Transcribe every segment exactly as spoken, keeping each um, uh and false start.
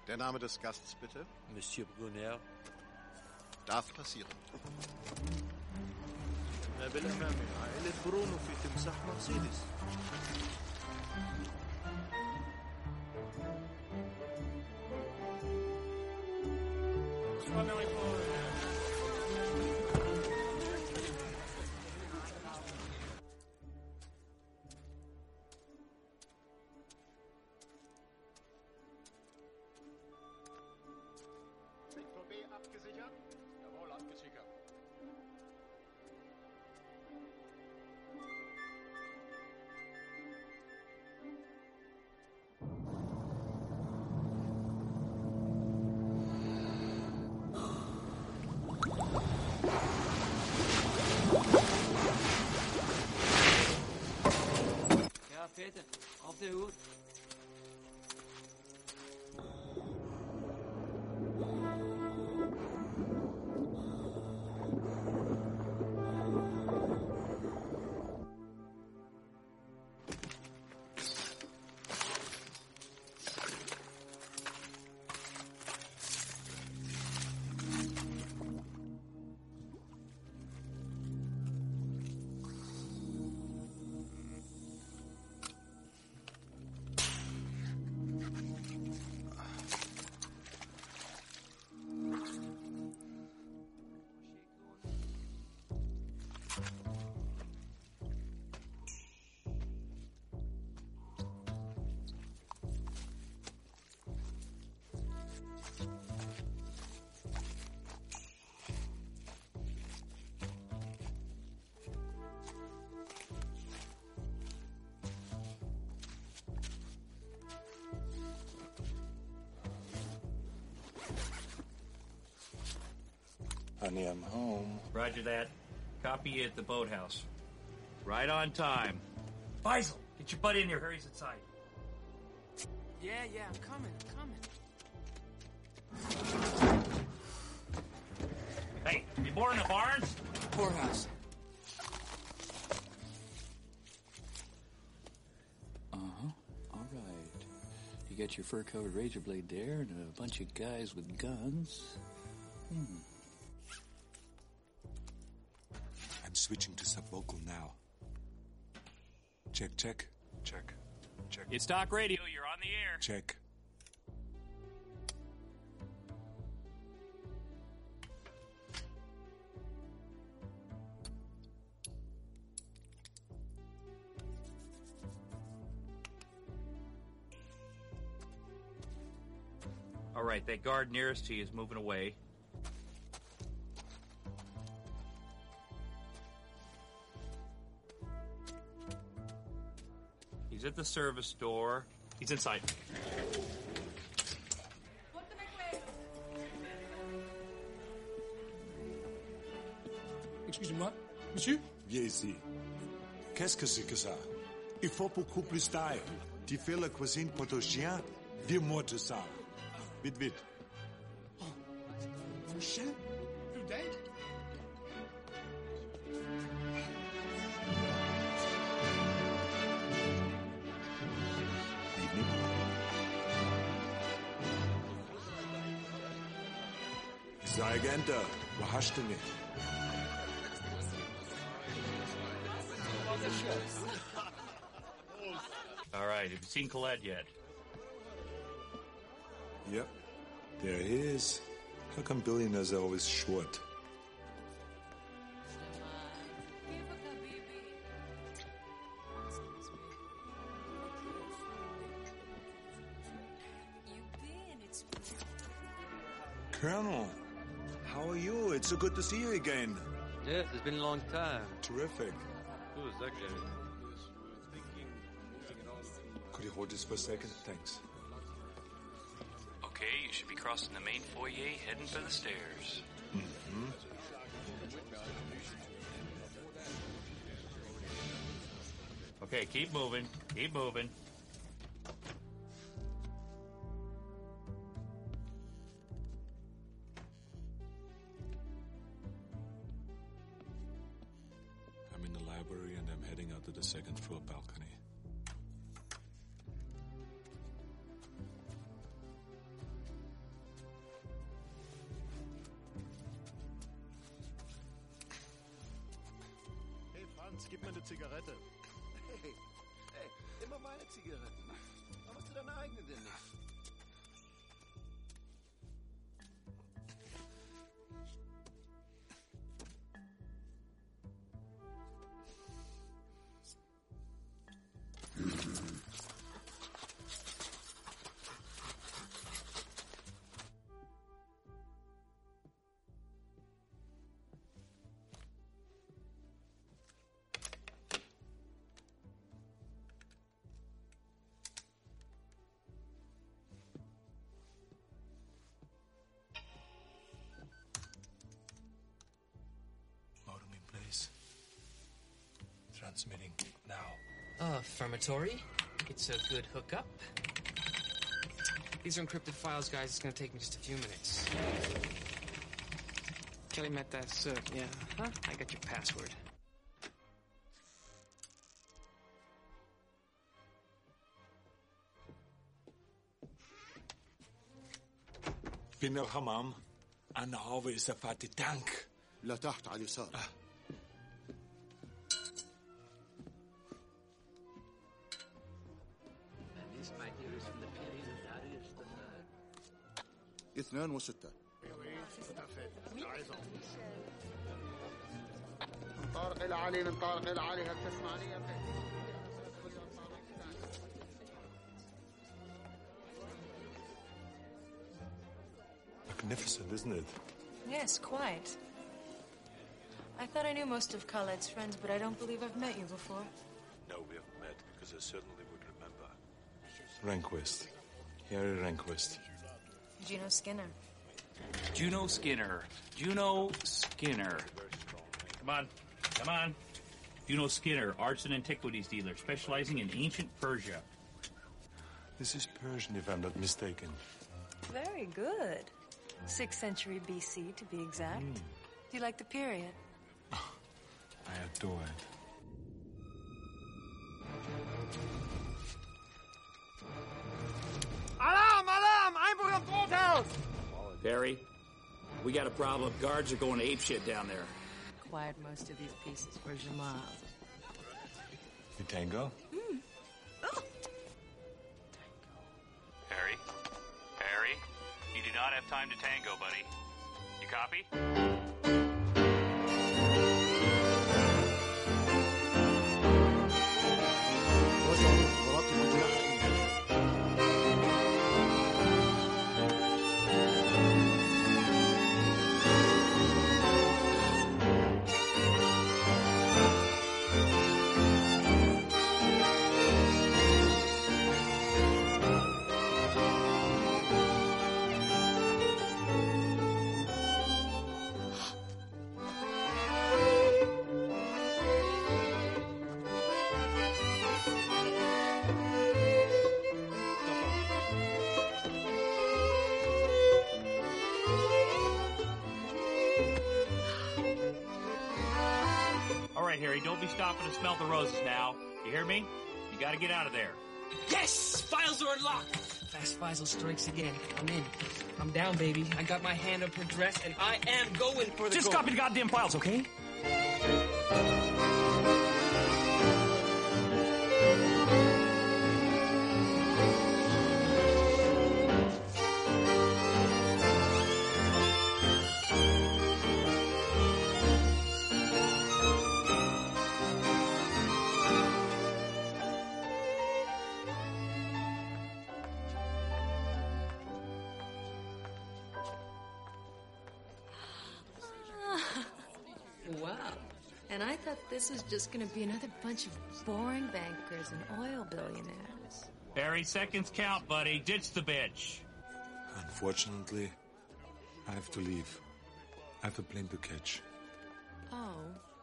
Der Name des Gastes, bitte? Monsieur Brunner. Darf passieren. بالأمام عائلة برونو في تمساح مرسيدس. Sektor B abgesichert? Jawohl, abgesichert. Ja, Peter, auf der Hut. Honey, I'm home. Roger that. Copy you at the boathouse. Right on time. Faisal, get your butt in here. Hurry's inside. Yeah, yeah, I'm coming, I'm coming. Hey, you boarding the Barnes? Poorhouse. Uh-huh. All right. You got your fur-covered razor blade there and a bunch of guys with guns. Hmm. I'm switching to subvocal now. Check, check, check, check. It's Stock Radio. You're on the air. Check. All right, that guard nearest to you is moving away. He's at the service door. He's inside. Excusez-moi, monsieur? Viens ici. Qu'est-ce que c'est que ça? Il faut beaucoup plus d'ail. Tu fais la cuisine pour ton chien? Viens-moi tout ça. Vite, vite. Mon chien? Plus d'aide? Sargento, wo hast du mich? All right, have you seen Colette yet? Yep, there he is. How come billionaires are always short? Colonel, how are you? It's so good to see you again. Yes, it's been a long time. Terrific. Who is that guy? Could you hold this for a second? Thanks. Okay, you should be crossing the main foyer, heading for the stairs. Mm-hmm. Okay, keep moving. Keep moving. I'm in the library and I'm heading out to the second floor balcony. gib mir eine Zigarette. Hey, hey, immer meine Zigaretten. Warum machst du deine eigene denn nicht? Transmitting now. Uh, affirmatory. It's a good hookup. These are encrypted files, guys. It's gonna take me just a few minutes. Kelly met that cert, yeah. Huh? I got your password. بين الحمام أنا هو إذا فات التانك. لا تحت على اليسار. آه. اثنان وستة. من طارق إلى علي، من طارق إلى علي، هل تسمعني يا أخي؟ Magnificent, isn't it? Yes, quite. I thought I knew most of Khaled's friends, but I don't believe I've met you before. No, we haven't met, because I certainly would remember. Rehnquist. Harry Rehnquist. Juno Skinner. Juno Skinner. Juno Skinner. Come on. Come on. Juno Skinner, arts and antiquities dealer, specializing in ancient Persia. This is Persian, if I'm not mistaken. Very good. Sixth century B C, to be exact. Mm. Do you like the period? I adore it. Alarm! Alarm! Einbruch am Brothaus! Barry, we got a problem. Guards are going apeshit down there. Acquired most of these pieces for Jamal. You tango? Mm. Oh. Harry? Harry? You do not have time to tango, buddy. You copy? Harry, don't be stopping to smell the roses now. You hear me? You gotta get out of there. Yes! Files are unlocked! Fast Faisal strikes again. I'm in. I'm down, baby. I got my hand up her dress, and I am going for the Just goal. copy the goddamn files, okay? And I thought this was just going to be another bunch of boring bankers and oil billionaires. Barry, seconds count, buddy. Ditch the bitch. Unfortunately, I have to leave. I have a plane to catch. Oh.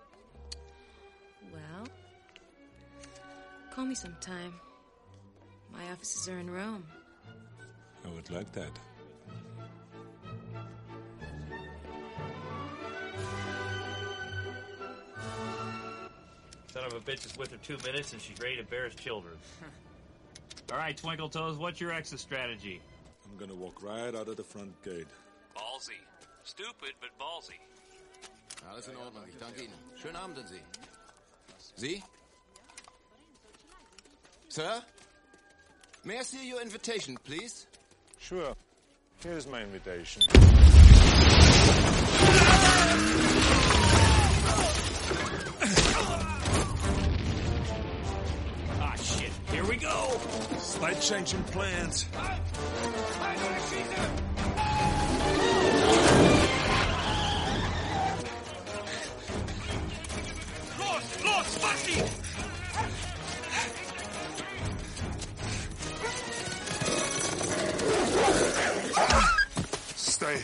Well, call me sometime. My offices are in Rome. I would like that. Son of a bitch is with her two minutes and she's ready to bear his children. All right, Twinkle Toes, what's your exit strategy? I'm gonna walk right out of the front gate. Ballsy. Stupid, but ballsy. Alles in Ordnung, ich danke Ihnen. Schönen Abend an Sie. Sie? Sir? May I see your invitation, please? Sure. Here's my invitation. Ah, shit. Here we go. Slight change in plans. Los, los, Bucky! Stay.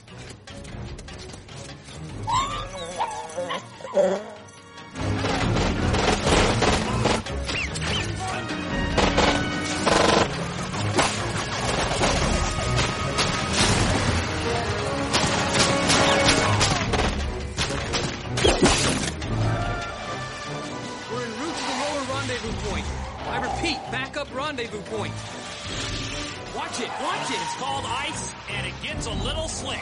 We're en route to the lower rendezvous point. I repeat, backup rendezvous point. Watch it, watch it. It's called ice, and it gets a little slick.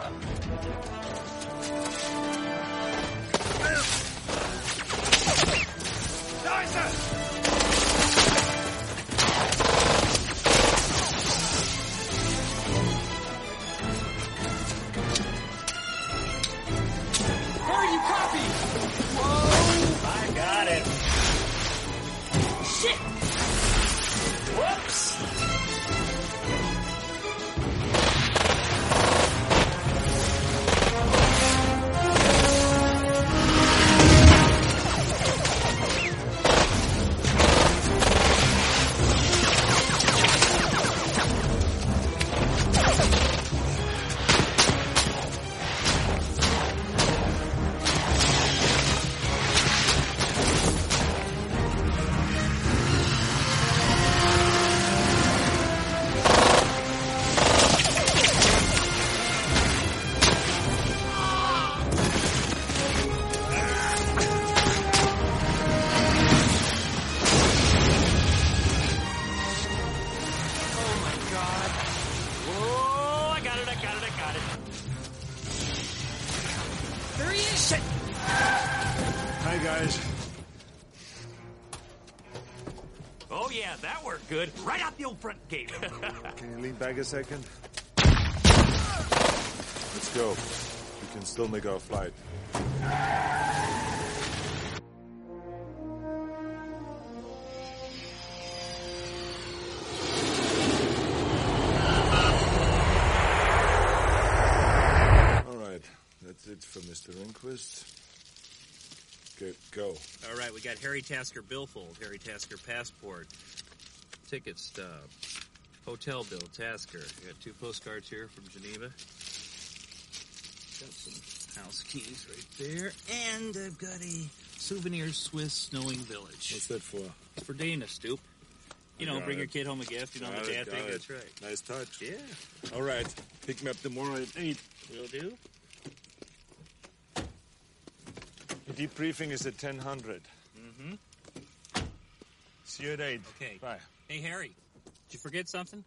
Hurry, you copy! Whoa! I got it. Shit! Whoops. Whoa, I got it, I got it, I got it. There he is! Shit! Hi, guys. Oh, yeah, that worked good. Right out the old front gate. Can you lean back a second? Let's go. We can still make our flight. All right. That's it for Mister Rehnquist. Good, go. All right, we got Harry Tasker billfold, Harry Tasker passport, ticket stub, hotel bill, Tasker. We got two postcards here from Geneva. Got some house keys right there, and I've got a souvenir Swiss snowing village. What's that for? It's for Dana, Stoop. You know, Got bring it. your kid home a gift. You know, Got the it, dad got thing. it. That's right. Nice touch. Yeah, All right. Pick me up tomorrow at eight. will do. The debriefing is at ten hundred. Mm-hmm. See you at eight. Okay. Bye. Hey, Harry, did you forget something?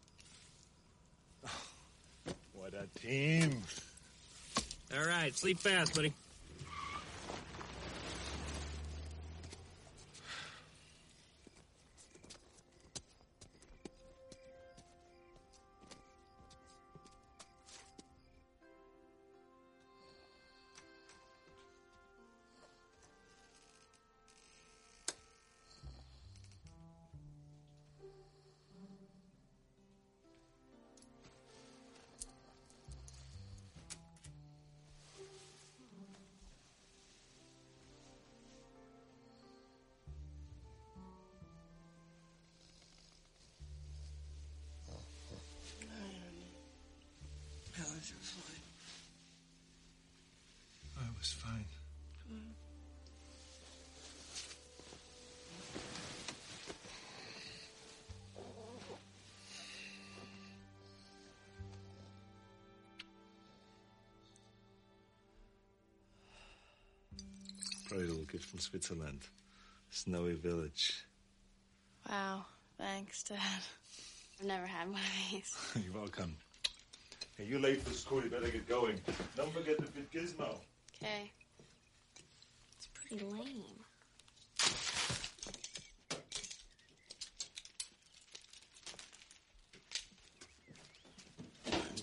What a team. All right, sleep fast, buddy. How was your flight? I was fine. Probably a little gift from Switzerland. Snowy village. Wow, thanks, Dad. I've never had one of these. You're welcome. Hey, you're late for school. You better get going. Don't forget the big gizmo. Okay. It's pretty lame.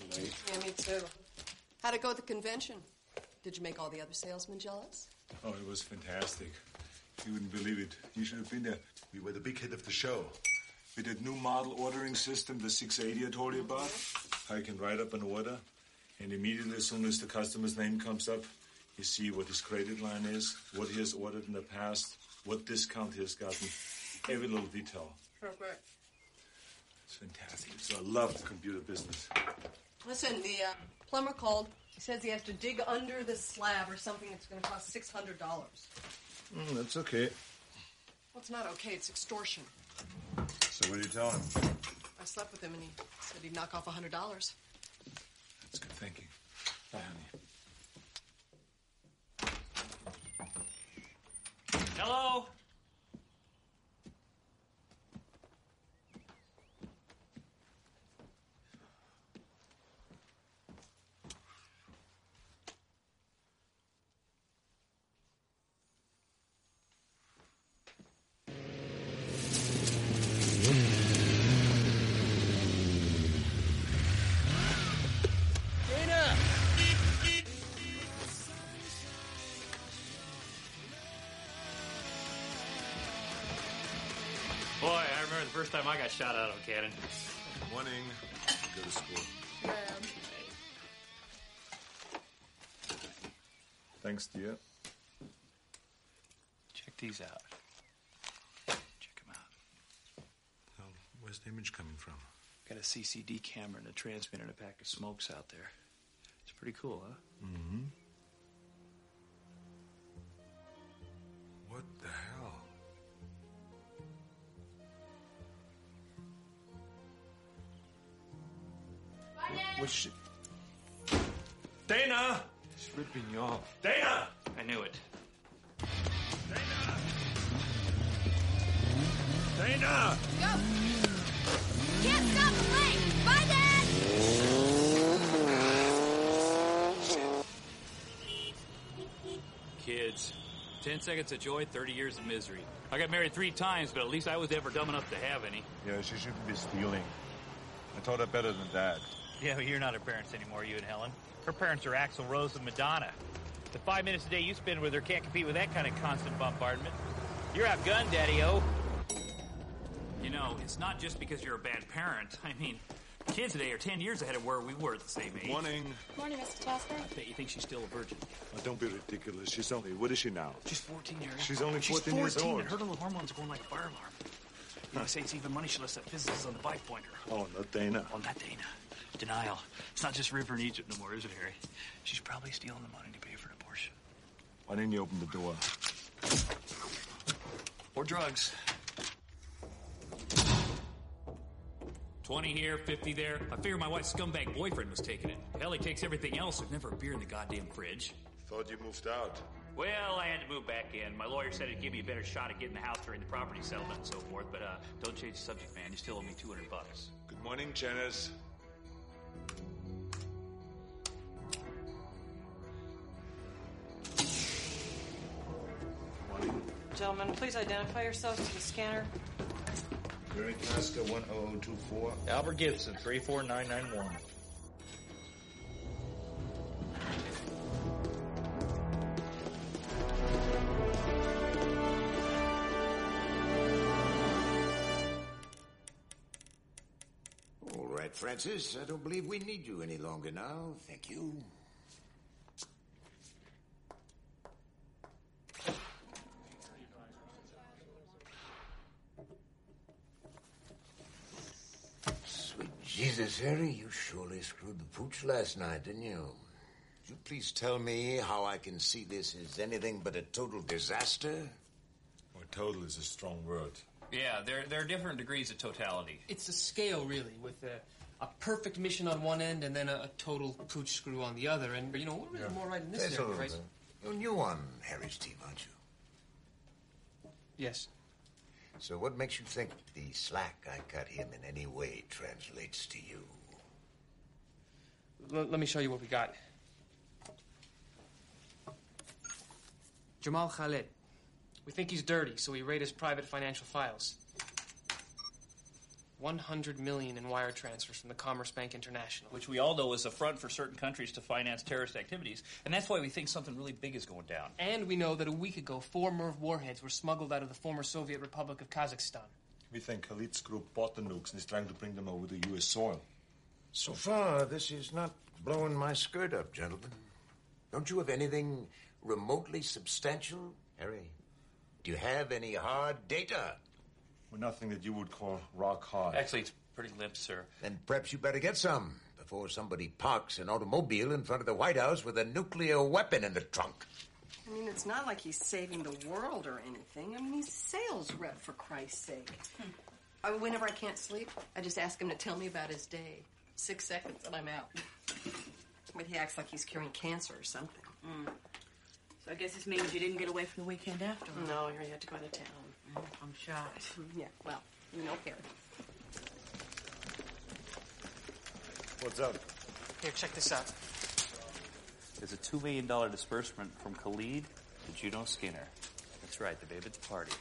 late. Yeah, me too. How'd it go at the convention? Did you make all the other salesmen jealous? Oh, it was fantastic. You wouldn't believe it. You should have been there. We were the big hit of the show. With that new model ordering system, the six eighty I told you about, how you can write up an order, and immediately as soon as the customer's name comes up, you see what his credit line is, what he has ordered in the past, what discount he has gotten, every little detail. Perfect. It's fantastic. So I love the computer business. Listen, the uh, plumber called. He says he has to dig under the slab or something that's going to cost six hundred dollars. Mm, that's okay. Well, it's not okay. It's extortion. So what do you tell him? I slept with him, and he said he'd knock off one hundred dollars. That's good thinking. Bye, honey. Hello? Boy, I remember the first time I got shot out of a cannon. Morning. Go to school. Thanks, dear. Check these out. Check them out. Well, where's the image coming from? Got a C C D camera and a transmitter and a pack of smokes out there. It's pretty cool, huh? Mm-hmm. What the hell? What's she... Dana! She's ripping you off. Dana! I knew it. Dana! Go! Can't stop the plane! Bye, Dad! Kids. Ten seconds of joy, thirty years of misery. I got married three times, but at least I was ever dumb enough to have any. Yeah, she shouldn't be stealing. I taught her better than that. Yeah, but you're not her parents anymore, you and Helen. Her parents are Axl Rose and Madonna. The five minutes a day you spend with her can't compete with that kind of constant bombardment. You're outgunned, Daddy-O. You know, it's not just because you're a bad parent. I mean, kids today are ten years ahead of where we were at the same age. Morning. Morning, Mister Tasker. I bet you think she's still a virgin. Oh, don't be ridiculous. She's only... What is she now? She's fourteen, Harry. She's only She's fourteen years old. and her little hormones are going like a fire alarm. You know, they say it's even money she lets that physicist on the bike pointer. Oh, not Dana. Oh, not Dana. Denial. It's not just River in Egypt no more, is it, Harry? She's probably stealing the money to pay for an abortion. Why didn't you open the door? Or drugs. Twenty here, fifty there. I figure my wife's scumbag boyfriend was taking it. Hell, he takes everything else. There's never a beer in the goddamn fridge. Thought you moved out. Well, I had to move back in. My lawyer said it'd give me a better shot at getting the house during the property settlement and so forth. But uh, don't change the subject, man. You still owe me two hundred bucks. Good morning, Janice. Gentlemen, please identify yourselves to the scanner. Gary Tasker, one oh oh two four. Albert Gibson, three four nine nine one. All right, Francis. I don't believe we need you any longer now. Thank you. Jesus, Harry, you surely screwed the pooch last night, didn't you? Would you please tell me how I can see this as anything but a total disaster? Well, total is a strong word. Yeah, there there are different degrees of totality. It's a scale, really, with a, a perfect mission on one end and then a, a total pooch screw on the other. And, you know, we're really yeah. more right in this There's area, a right? You're new on Harry's team, aren't you? Yes. So what makes you think the slack I cut him in any way translates to you? L- let me show you what we got. Jamal Khalid. We think he's dirty, so we raid his private financial files. one hundred million in wire transfers from the Commerce Bank International. Which we all know is a front for certain countries to finance terrorist activities, and that's why we think something really big is going down. And we know that a week ago, four Merv warheads were smuggled out of the former Soviet Republic of Kazakhstan. We think Khalid's group bought the nukes and is trying to bring them over to U S soil. So far, this is not blowing my skirt up, gentlemen. Don't you have anything remotely substantial, Harry? Do you have any hard data? Well, nothing that you would call rock hard. Actually, it's pretty limp, sir. Then perhaps you better get some before somebody parks an automobile in front of the White House with a nuclear weapon in the trunk. I mean, it's not like he's saving the world or anything. I mean, he's a sales rep, for Christ's sake. Hmm. I mean, whenever I can't sleep, I just ask him to tell me about his day. Six seconds and I'm out. But he acts like he's curing cancer or something. Mm. So I guess this means you didn't get away from the weekend after all. No, you had to go to town. Mm, I'm shocked. Yeah, well, you know, Harry. What's up? Here, check this out. There's a two million dollars disbursement from Khalid to Juno Skinner. That's right, the babe at the party.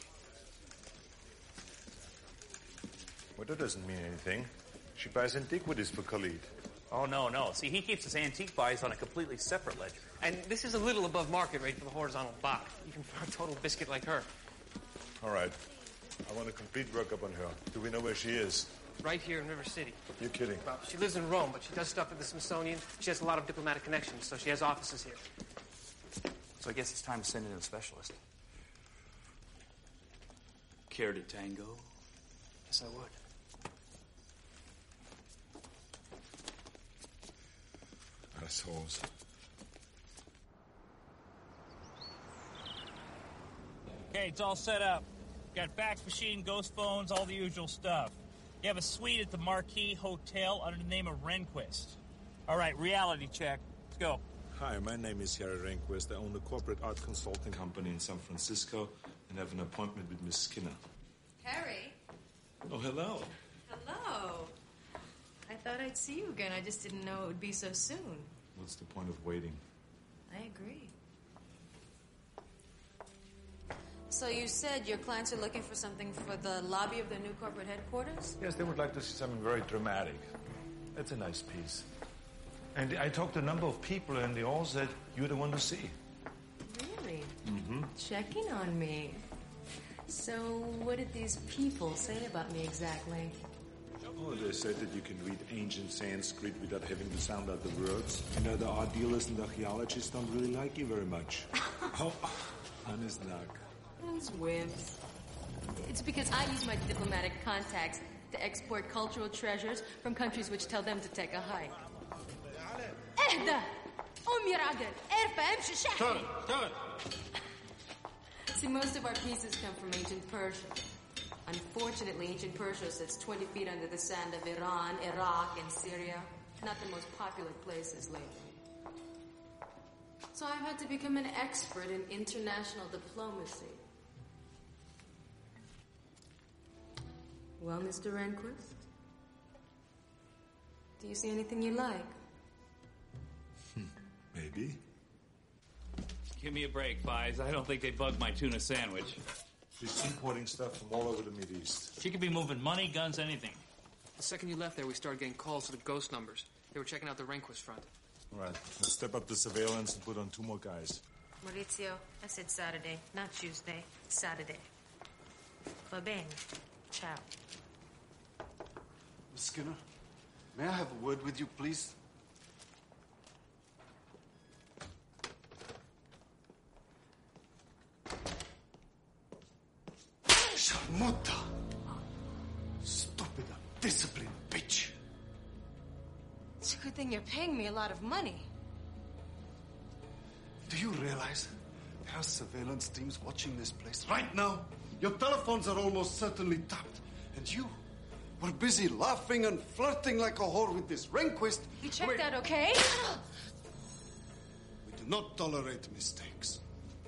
Well, that doesn't mean anything. She buys antiquities for Khalid. Oh, no, no. See, he keeps his antique buys on a completely separate ledger. And this is a little above market rate for the horizontal buy, even for a total biscuit like her. All right. I want a complete workup on her. Do we know where she is? Right here in River City. You're kidding. Well, she lives in Rome, but she does stuff at the Smithsonian. She has a lot of diplomatic connections, so she has offices here. So I guess it's time to send in a specialist. Care to tango? Yes, I would. Assholes. Okay, it's all set up. Got fax machine, ghost phones, all the usual stuff. You have a suite at the Marquis Hotel under the name of Rehnquist. All right, reality check. Let's go. Hi, my name is Harry Rehnquist. I own a corporate art consulting company in San Francisco and have an appointment with Miss Skinner. Harry? Oh, hello. Hello. I thought I'd see you again. I just didn't know it would be so soon. What's the point of waiting? I agree. So you said your clients are looking for something for the lobby of their new corporate headquarters? Yes, they would like to see something very dramatic. That's a nice piece. And I talked to a number of people, and they all said you're the one to see. Really? Mm-hmm. Checking on me. So what did these people say about me exactly? Oh, they said that you can read ancient Sanskrit without having to sound out the words. You know, the art dealers and archaeologists don't really like you very much. Oh, honest knock. Those wimps. It's because I use my diplomatic contacts to export cultural treasures from countries which tell them to take a hike. اهدى قوم يا راجل ارفع امشي شحن. See, most of our pieces come from ancient Persia. Unfortunately, ancient Persia sits twenty feet under the sand of Iran, Iraq, and Syria. Not the most popular places lately. So I've had to become an expert in international diplomacy. Well, Mister Rehnquist, do you see anything you like? Maybe. Give me a break, Fies. I don't think they bugged my tuna sandwich. She's importing stuff from all over the Mideast. She could be moving money, guns, anything. The second you left there, we started getting calls to the ghost numbers. They were checking out the Rehnquist front. All right, let's step up the surveillance and put on two more guys. Maurizio, I said Saturday, not Tuesday. Saturday. Va bene. Ciao. Miss Skinner, may I have a word with you, please? Sharmuta! Stupid, undisciplined bitch! It's a good thing you're paying me a lot of money. Do you realize there are surveillance teams watching this place right now? Your telephones are almost certainly tapped. And you were busy laughing and flirting like a whore with this Rehnquist. You checked Wait. out okay? We do not tolerate mistakes.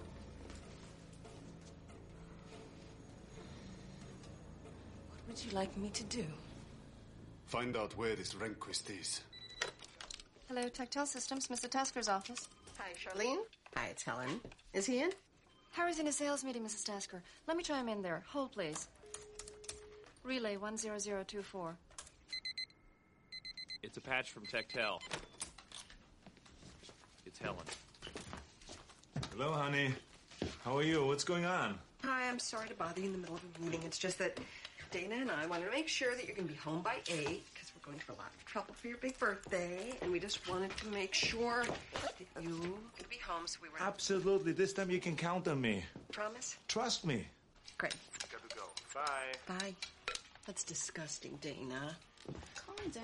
What would you like me to do? Find out where this Rehnquist is. Hello, Tactile Systems, Mister Tasker's office. Hi, Charlene. Hi, it's Helen. Is he in? Harry's in a sales meeting, Missus Tasker. Let me try him in there. Hold, please. Relay one zero zero two four. It's a patch from Techtel. It's Helen. Hello, honey. How are you? What's going on? Hi, I'm sorry to bother you in the middle of a meeting. It's just that Dana and I wanted to make sure that you're going to be home by eight because we're going to a lot of trouble for your big birthday, and we just wanted to make sure that you could be home, so we were... Absolutely. This time you can count on me. Promise? Trust me. Great. Gotta go. Bye. Bye. That's disgusting, Dana. Calm down.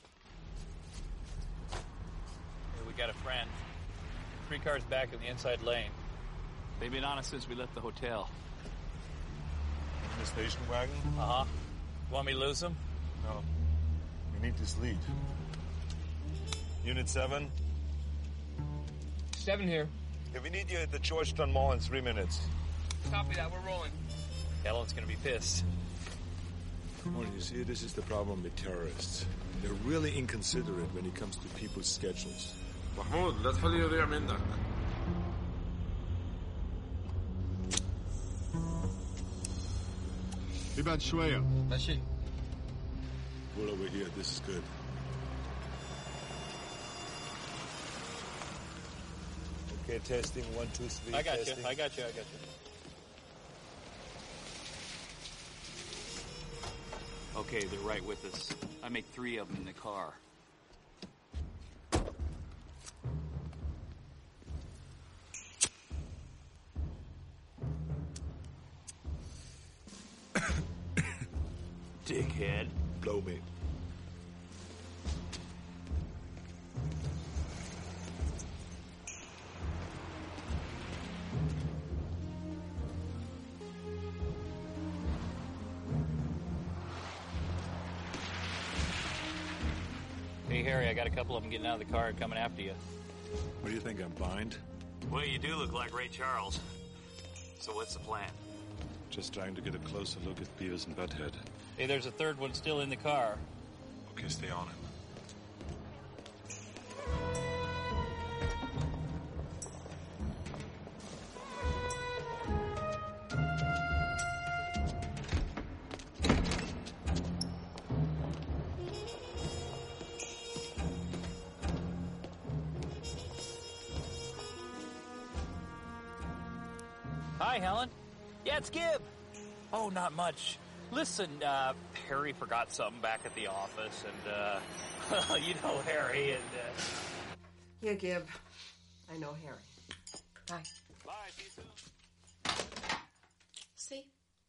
Hey, we got a friend. Three cars back in the inside lane. They've been on us since we left the hotel. In the station wagon? Uh-huh. Want me to lose them? No. We need this lead. Unit seven? Seven here. Yeah, we need you at the Georgetown Mall in three minutes. Copy that. We're rolling. Helen's gonna be pissed. Well, you see, this is the problem with terrorists. They're really inconsiderate when it comes to people's schedules. محمود لا تخليه يضيع منك. ابعد شوية. ماشي. Pull over here. This is good. Okay, testing. One, two, three. I got testing. you. I got you. I got you. Okay, they're right with us. I made three of them in the car. Dickhead. Blow me. Hey, Harry, I got a couple of them getting out of the car and coming after you. What do you think, I'm blind? Well, you do look like Ray Charles. So what's the plan? Just trying to get a closer look at Beavis and Butthead. Hey, there's a third one still in the car. Okay, stay on him. Hi, Helen. Yeah, it's Gib. Oh, not much. Listen, uh, Harry forgot something back at the office, and, uh, well, you know Harry, and, uh... Yeah, Gib. I know Harry. Bye. Bye, see you soon. See?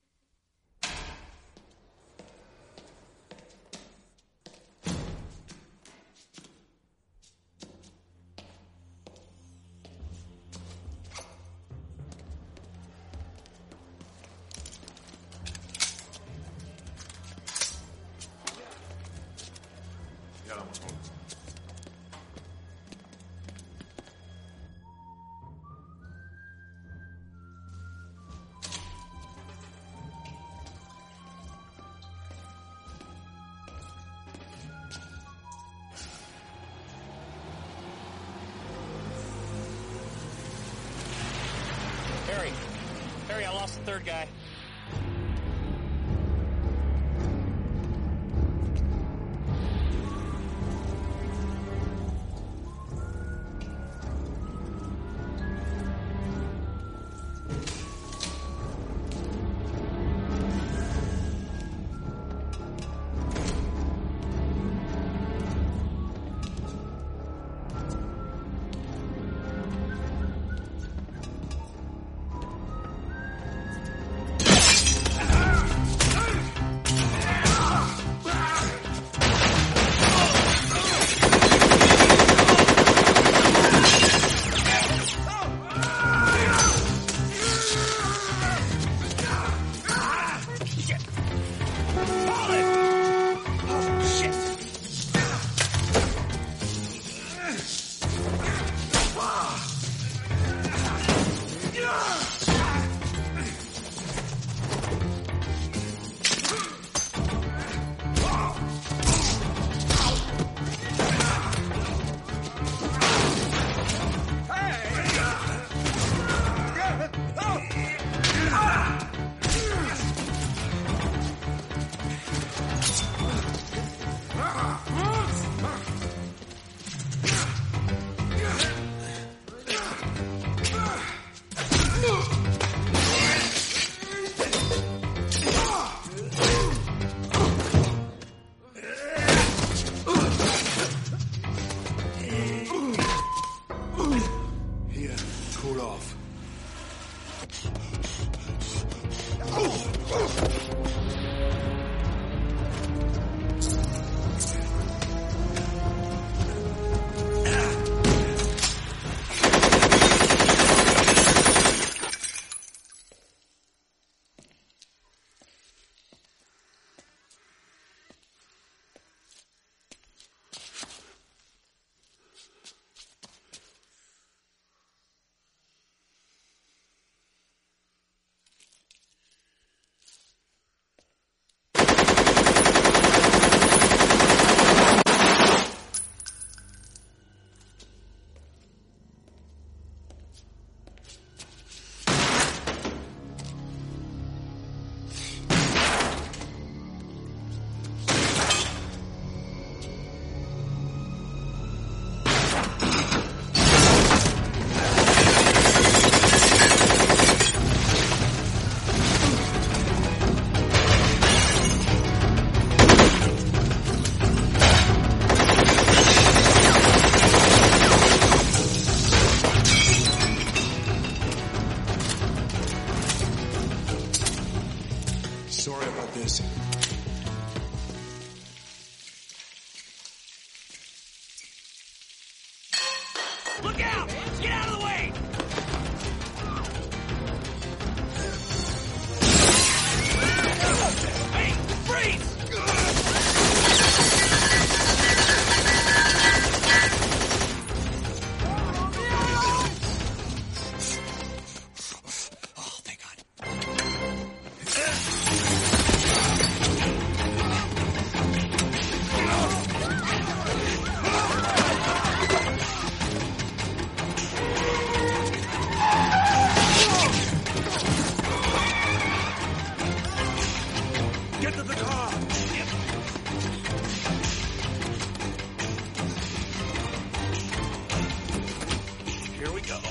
Yeah, that one's home. Harry. Harry, I lost the third guy. Look out! Get out of the way! Hey, freeze! Get to the car! Here we go.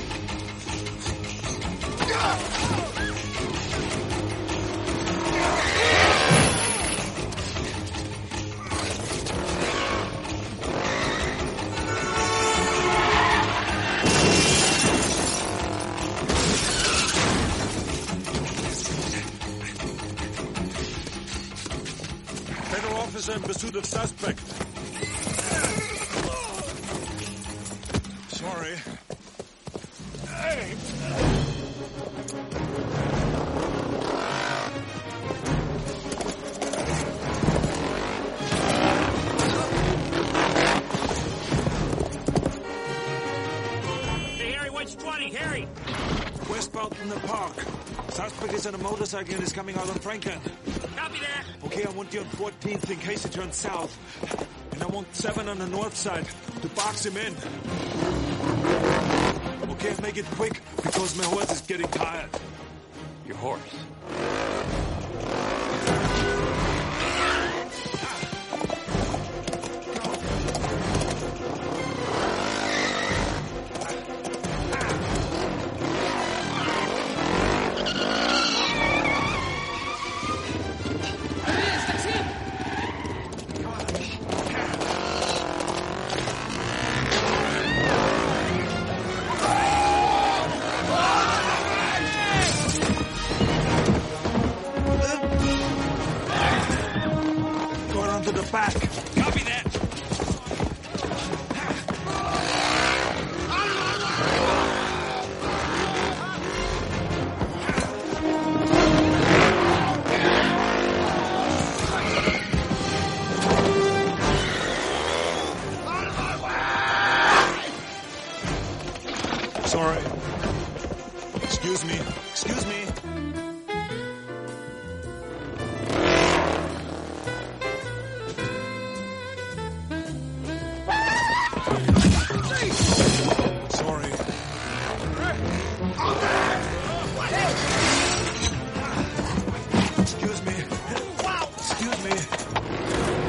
Federal officer in pursuit of suspect. Sorry. Hey! Hey, Harry, which twenty? Harry! Westbound in the park. Suspect is on a motorcycle and is coming out on Franklin. Copy that. Okay, I want you on fourteenth in case he turns south. And I want seven on the north side to box him in. Okay, make it quick because my horse is getting tired. Your horse? Go around to the back. Copy that. Sorry. Excuse me. Excuse me. Sorry. Excuse me. Excuse me.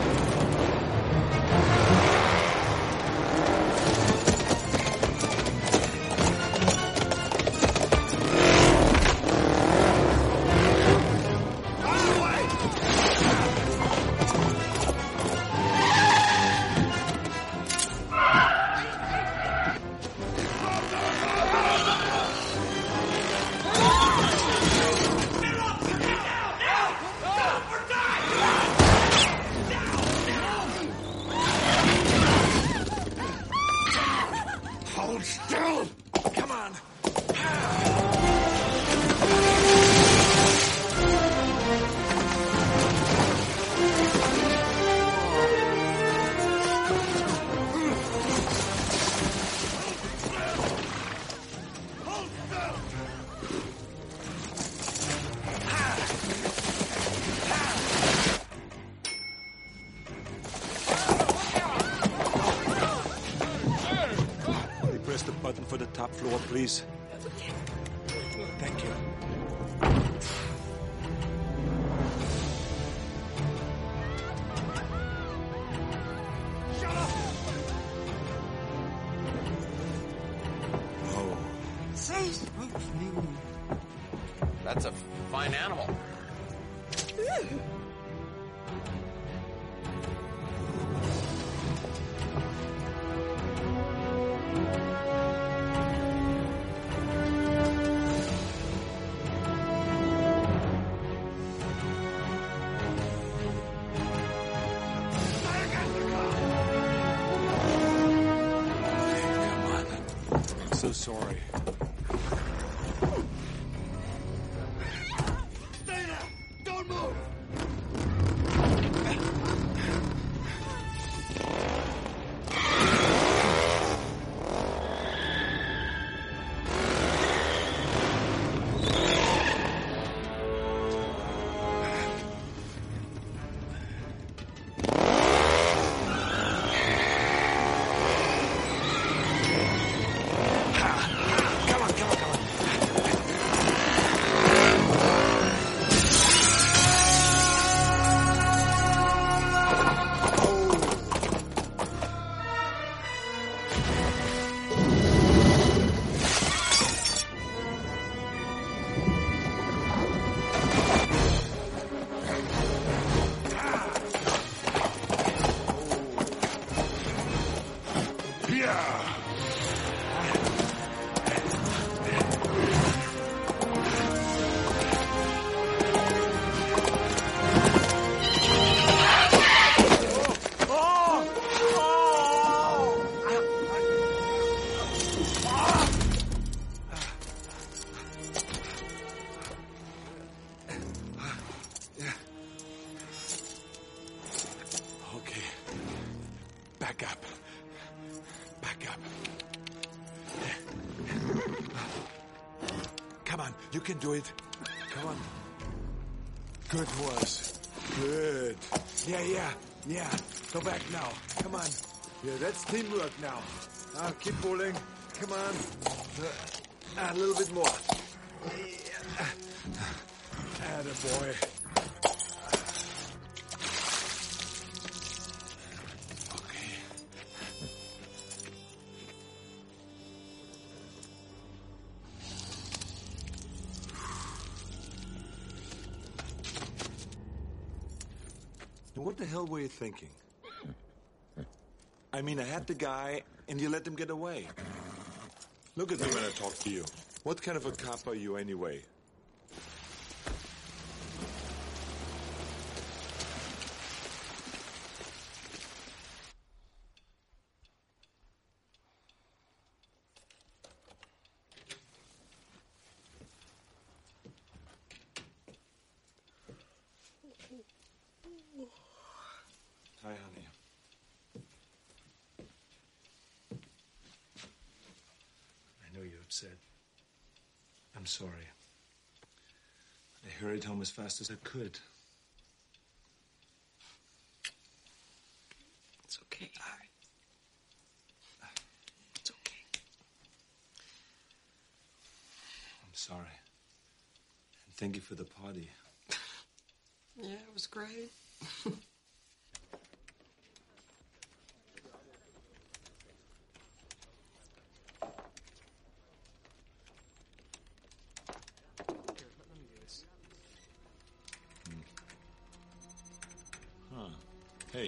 Hold still! Come on! Press the button for the top floor, please. Thank you. Oh. That's a fine animal. so sorry. Stay there! Don't move! You can do it. Come on. Good horse. Good. Yeah, yeah, yeah. Go back now. Come on. Yeah, that's teamwork now. Ah, keep pulling. Come on. Uh, a little bit more. Yeah. Attaboy. What the hell were you thinking? I mean, I had the guy, and you let him get away. Look at me when I talk to you. What kind of a cop are you anyway? Hi, honey. I know you're upset. I'm sorry. I hurried home as fast as I could. It's okay, Harry. It's okay. I'm sorry. And thank you for the party. Yeah, it was great. Huh. Hey.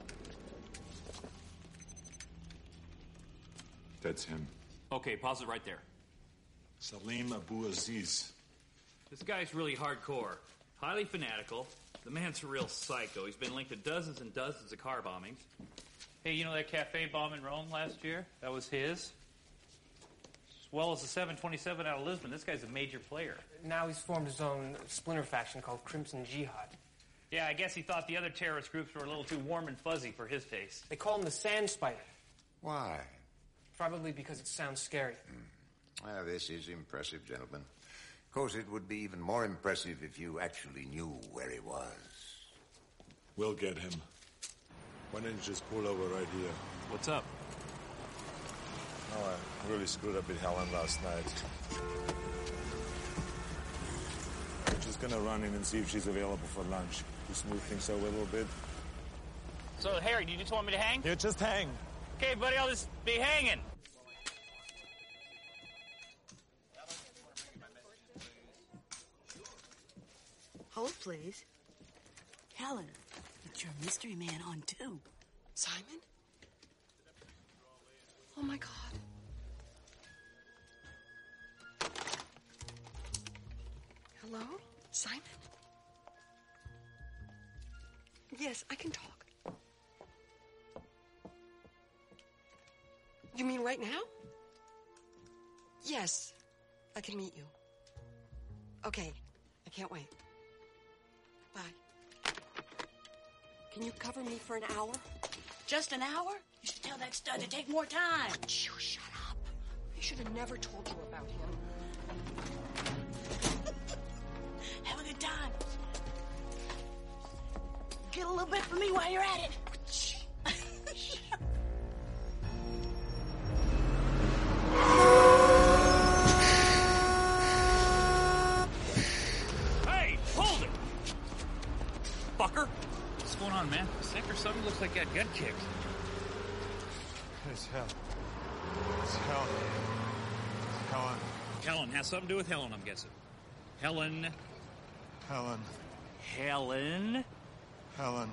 That's him. Okay, pause it right there. Salim Abu Aziz. This guy's really hardcore, highly fanatical. The man's a real psycho. He's been linked to dozens and dozens of car bombings. Hey, you know that cafe bomb in Rome last year? That was his. As well as the seven twenty-seven out of Lisbon. This guy's a major player. Now he's formed his own splinter faction called Crimson Jihad. Yeah, I guess he thought the other terrorist groups were a little too warm and fuzzy for his taste. They call him the Sand Spider. Why? Probably because it sounds scary. Mm. Well, this is impressive, gentlemen. Of course, it would be even more impressive if you actually knew where he was. We'll get him. Why don't you just pull over right here? What's up? Oh, I really screwed up with Helen last night. We're just gonna run in and see if she's available for lunch. To smooth things over a little bit. So, Harry, do you just want me to hang? Yeah, just hang. Okay, buddy, I'll just be hanging. Hold, please. Helen, it's your mystery man on too. Simon? Oh, my God. Hello? Simon? Yes, I can talk. You mean right now? Yes, I can meet you. Okay, I can't wait. Bye. Can you cover me for an hour? Just an hour? You should tell that stud to take more time. Shh, shut up. I should have never told you about him. Have a good time. Get a little bit for me while you're at it. Hey, hold it! Fucker! What's going on, man? Sick or something? Looks like got gut kicked. It's hell. It's hell. It's Helen. Helen has something to do with Helen, I'm guessing. Helen. Helen. Helen. Helen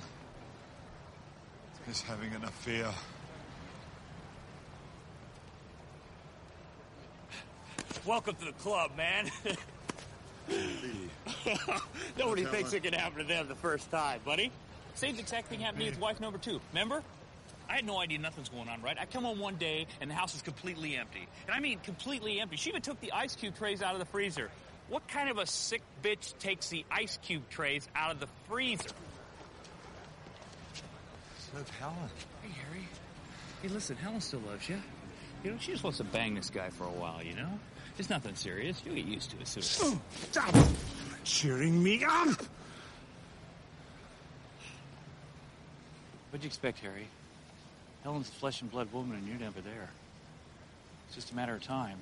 is having an affair. Welcome to the club, man. Nobody thinks it can happen to them the first time, buddy. Same exact thing happened to me with wife number two. Remember? I had no idea nothing's going on, right? I come home one day, and the house is completely empty. And I mean completely empty. She even took the ice cube trays out of the freezer. What kind of a sick bitch takes the ice cube trays out of the freezer? It's Helen. Hey, Harry. Hey, listen, Helen still loves you. You know, she just wants to bang this guy for a while, you know? It's nothing serious. You'll get used to it soon. Stop cheering me up! What'd you expect, Harry? Helen's a flesh and blood woman, and you're never there. It's just a matter of time.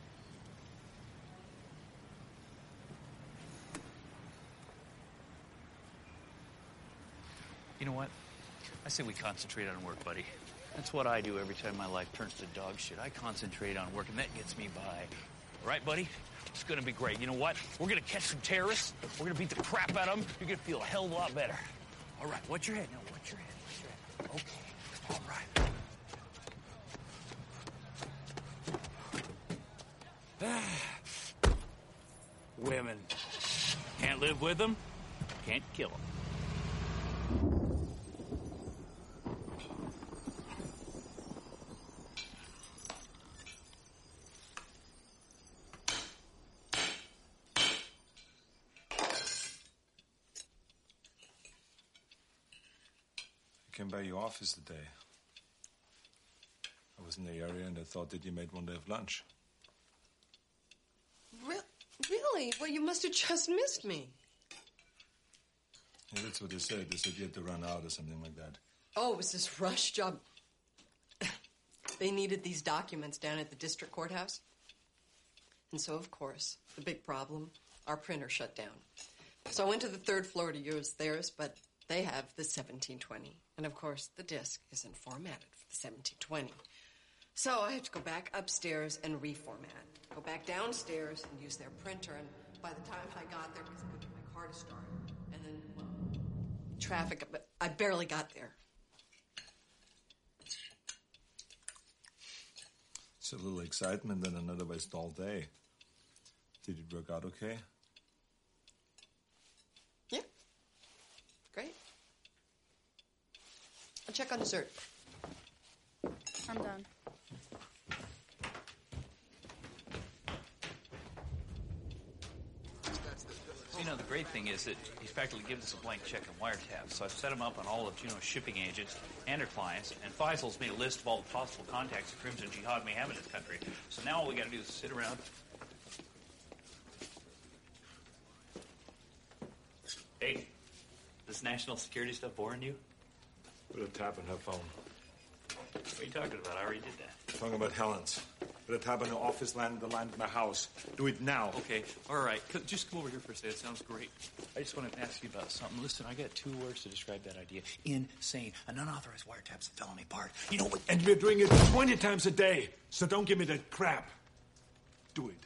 You know what? I say we concentrate on work, buddy. That's what I do every time my life turns to dog shit. I concentrate on work, and that gets me by. All right, buddy? It's gonna be great. You know what? We're gonna catch some terrorists. We're gonna beat the crap out of them. You're gonna feel a hell of a lot better. All right, watch your head. No, watch your head. Watch your head. Okay. All right. Women. Can't live with them. Can't kill them. I came by your office today. I was in the area and I thought that you made one day of lunch. Re- really? Well, you must have just missed me. Yeah, that's what they said. They said you had to run out or something like that. Oh, it was this rush job. They needed these documents down at the district courthouse. And so, of course, the big problem, our printer shut down. So I went to the third floor to use theirs, but they have the seventeen twenty. And, of course, the disc isn't formatted for the seventeen twenty. So I had to go back upstairs and reformat. Go back downstairs and use their printer. And by the time I got there, because I couldn't get my car to start, and then, well, traffic, but I barely got there. It's a little excitement and another waste all day. Did it work out okay? Yeah. Great. I'll check on dessert. I'm done. You know, the great thing is that he's practically given us a blank check on wiretaps. So I've set him up on all of Juno's shipping agents and their clients, and Faisal's made a list of all the possible contacts that Crimson Jihad may have in this country. So now all we got to do is sit around. Hey, this national security stuff boring you? Put a tap on her phone. What are you talking about? I already did that. Talking about Helen's. Put a tap on the office line, the line of my house. Do it now. Okay, all right. C- Just come over here for a second. It sounds great. I just want to ask you about something. Listen, I got two words to describe that idea. Insane. An unauthorized wiretap's a felony part. You know what? And we're doing it twenty times a day. So don't give me that crap. Do it.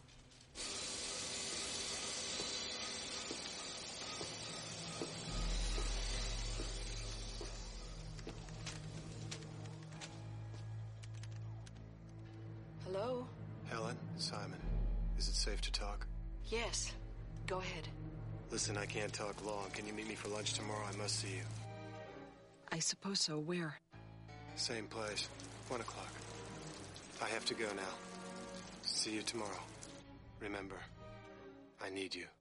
Hello? Helen, Simon, is it safe to talk? Yes. Go ahead. Listen, I can't talk long. Can you meet me for lunch tomorrow? I must see you. I suppose so. Where? Same place. One o'clock. I have to go now. See you tomorrow. Remember, I need you.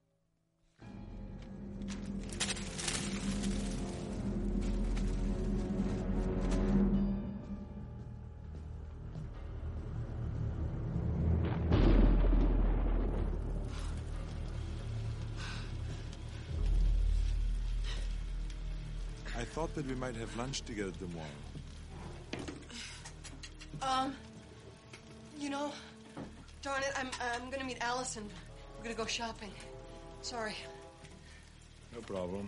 I thought that we might have lunch together tomorrow. Um, you know, darn it, I'm I'm gonna meet Allison. We're gonna go shopping. Sorry. No problem.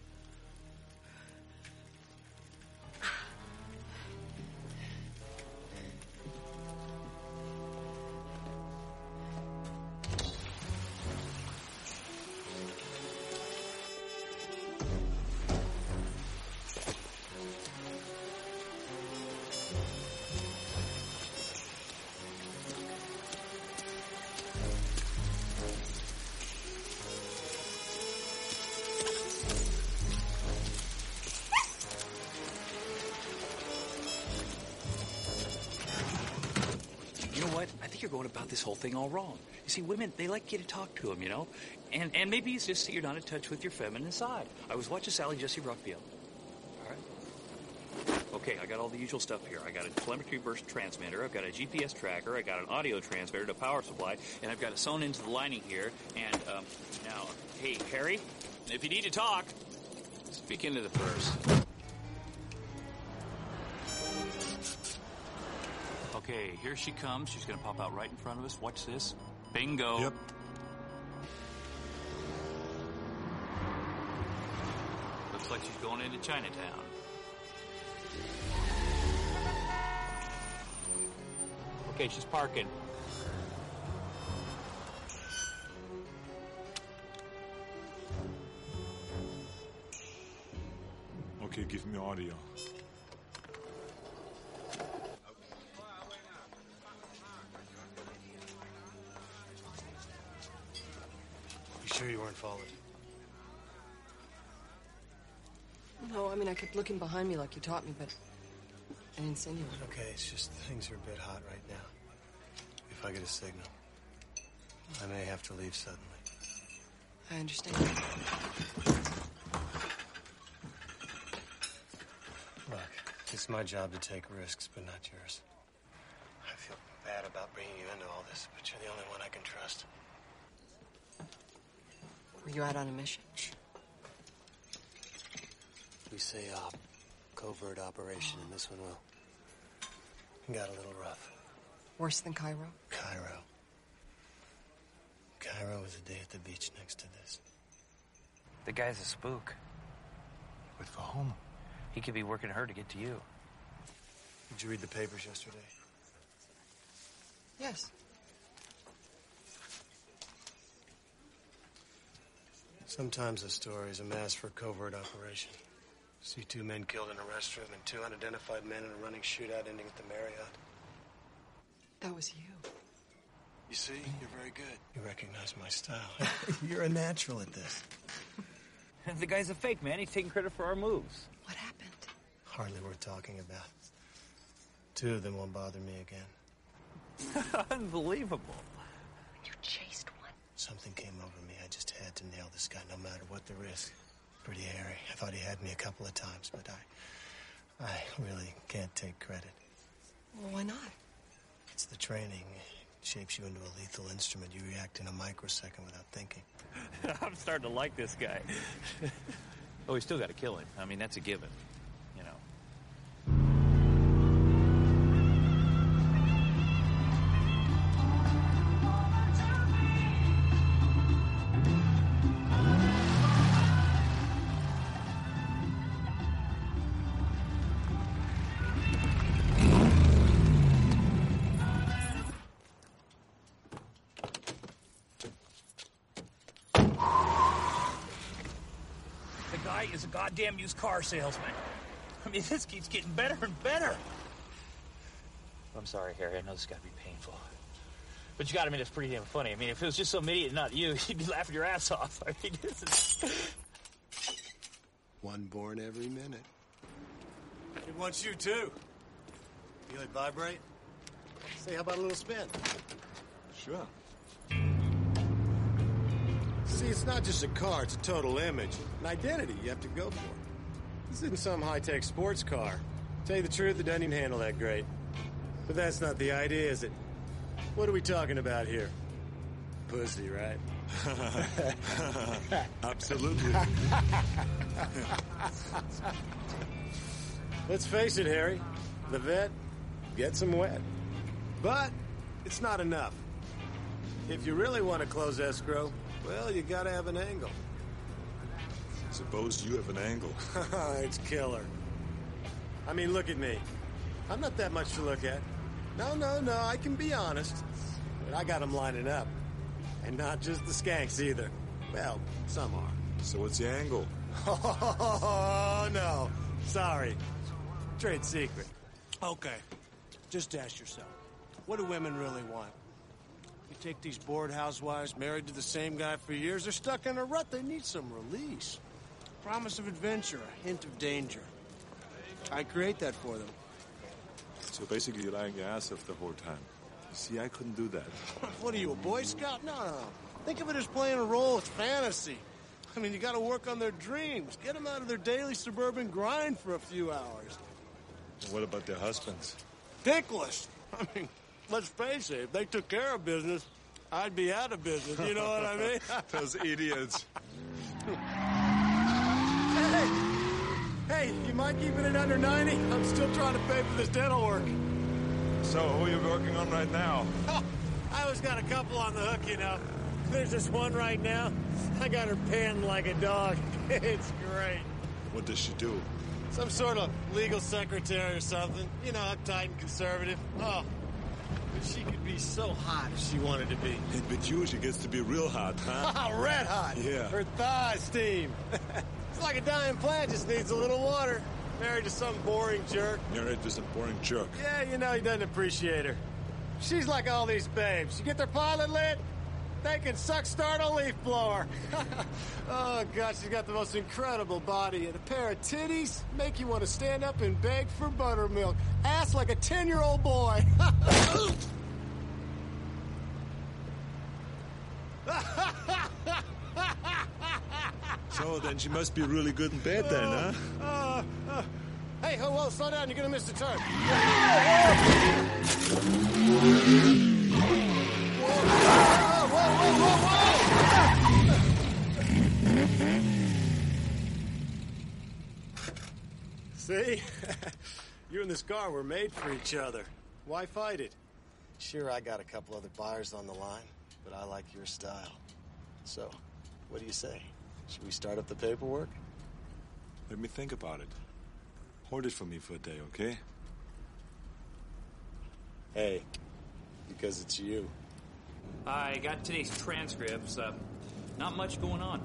You know what? I think you're going about this whole thing all wrong. You see, women, they like you to talk to them, you know? And and maybe it's just that you're not in touch with your feminine side. I was watching Sally Jesse Rockfield. All right? Okay, I got all the usual stuff here. I got a telemetry burst transmitter, I've got a G P S tracker, I got an audio transmitter to power supply, and I've got it sewn into the lining here. And, um, now, hey, Harry, if you need to talk, speak into the purse. Okay, here she comes. She's going to pop out right in front of us. Watch this. Bingo. Yep. Looks like she's going into Chinatown. Okay, she's parking. Okay, give me audio. Sure you weren't followed? No, I mean, I kept looking behind me like you taught me, but I didn't see anyone. Okay, it's just things are a bit hot right now. If I get a signal, I may have to leave suddenly. I understand. Look, it's my job to take risks, but not yours. I feel bad about bringing you into all this, but you're the only one I can trust. Were you out on a mission? We say op. Covert operation, and this one will. It got a little rough. Worse than Cairo? Cairo. Cairo was a day at the beach next to this. The guy's a spook. But for whom? He could be working hard to get to you. Did you read the papers yesterday? Yes. Sometimes a story is a mask for a covert operation. See two men killed in a restroom and two unidentified men in a running shootout ending at the Marriott. That was you. You see, you're very good. You recognize my style. You're a natural at this. The guy's a fake, man. He's taking credit for our moves. What happened? Hardly worth talking about. Two of them won't bother me again. Unbelievable. You chased one. Something came over me. I just had to nail this guy, no matter what the risk. Pretty hairy. I thought he had me a couple of times, but I, I really can't take credit. Well, why not? It's the training. It shapes you into a lethal instrument. You react in a microsecond without thinking. I'm starting to like this guy. Oh, we still got to kill him. I mean, that's a given, you know. Is a goddamn used car salesman. I mean, this keeps getting better and better. I'm sorry, Harry. I know this has got to be painful. But you got to admit, it's pretty damn funny. I mean, if it was just some idiot, not you, you'd be laughing your ass off. I mean, this is... One born every minute. He wants you, too. Feel it vibrate? Say, how about a little spin? Sure. See, it's not just a car, it's a total image. An identity you have to go for. This isn't some high-tech sports car. Tell you the truth, it doesn't even handle that great. But that's not the idea, is it? What are we talking about here? Pussy, right? Absolutely. Let's face it, Harry. The vet gets them wet. But it's not enough. If you really want to close escrow, well, you gotta have an angle. Suppose you have an angle. It's killer. I mean, look at me. I'm not that much to look at. No, no, no, I can be honest. But I got them lining up. And not just the skanks, either. Well, some are. So what's the angle? Oh, no. Sorry. Trade secret. Okay. Just ask yourself, what do women really want? You take these bored housewives married to the same guy for years, they're stuck in a rut. They need some release. Promise of adventure, a hint of danger. I create that for them. So basically you're lying your ass off the whole time. You see, I couldn't do that. What are you, a Boy Scout? No, no. Think of it as playing a role. It's fantasy. I mean, you got to work on their dreams. Get them out of their daily suburban grind for a few hours. And what about their husbands? Dickless. I mean, let's face it, if they took care of business, I'd be out of business. You know what I mean? Those idiots. Hey! Hey, you mind keeping it under ninety? I'm still trying to pay for this dental work. So, who are you working on right now? Oh, I always got a couple on the hook, you know. There's this one right now. I got her pinned like a dog. It's great. What does she do? Some sort of legal secretary or something. You know, uptight and conservative. Oh, but she could be so hot if she wanted to be. And with you, she gets to be real hot, huh? Red hot. Yeah. Her thighs steam. It's like a dying plant, just needs a little water. Married to some boring jerk. Married to some boring jerk. Yeah, you know, he doesn't appreciate her. She's like all these babes. You get their pilot lit, they can suck start a leaf blower. Oh, God, she's got the most incredible body and a pair of titties make you want to stand up and beg for buttermilk. Ass like a ten-year-old boy. So then she must be really good in bed then, huh? Uh, uh, hey, whoa, whoa, slow down. You're going to miss the turn. Whoa, whoa, whoa, whoa, See? You and this car were made for each other. Why fight it? Sure, I got a couple other buyers on the line, but I like your style. So, what do you say? Should we start up the paperwork? Let me think about it. Hold it for me for a day, okay? Hey, because it's you. I got today's transcripts. Uh, not much going on.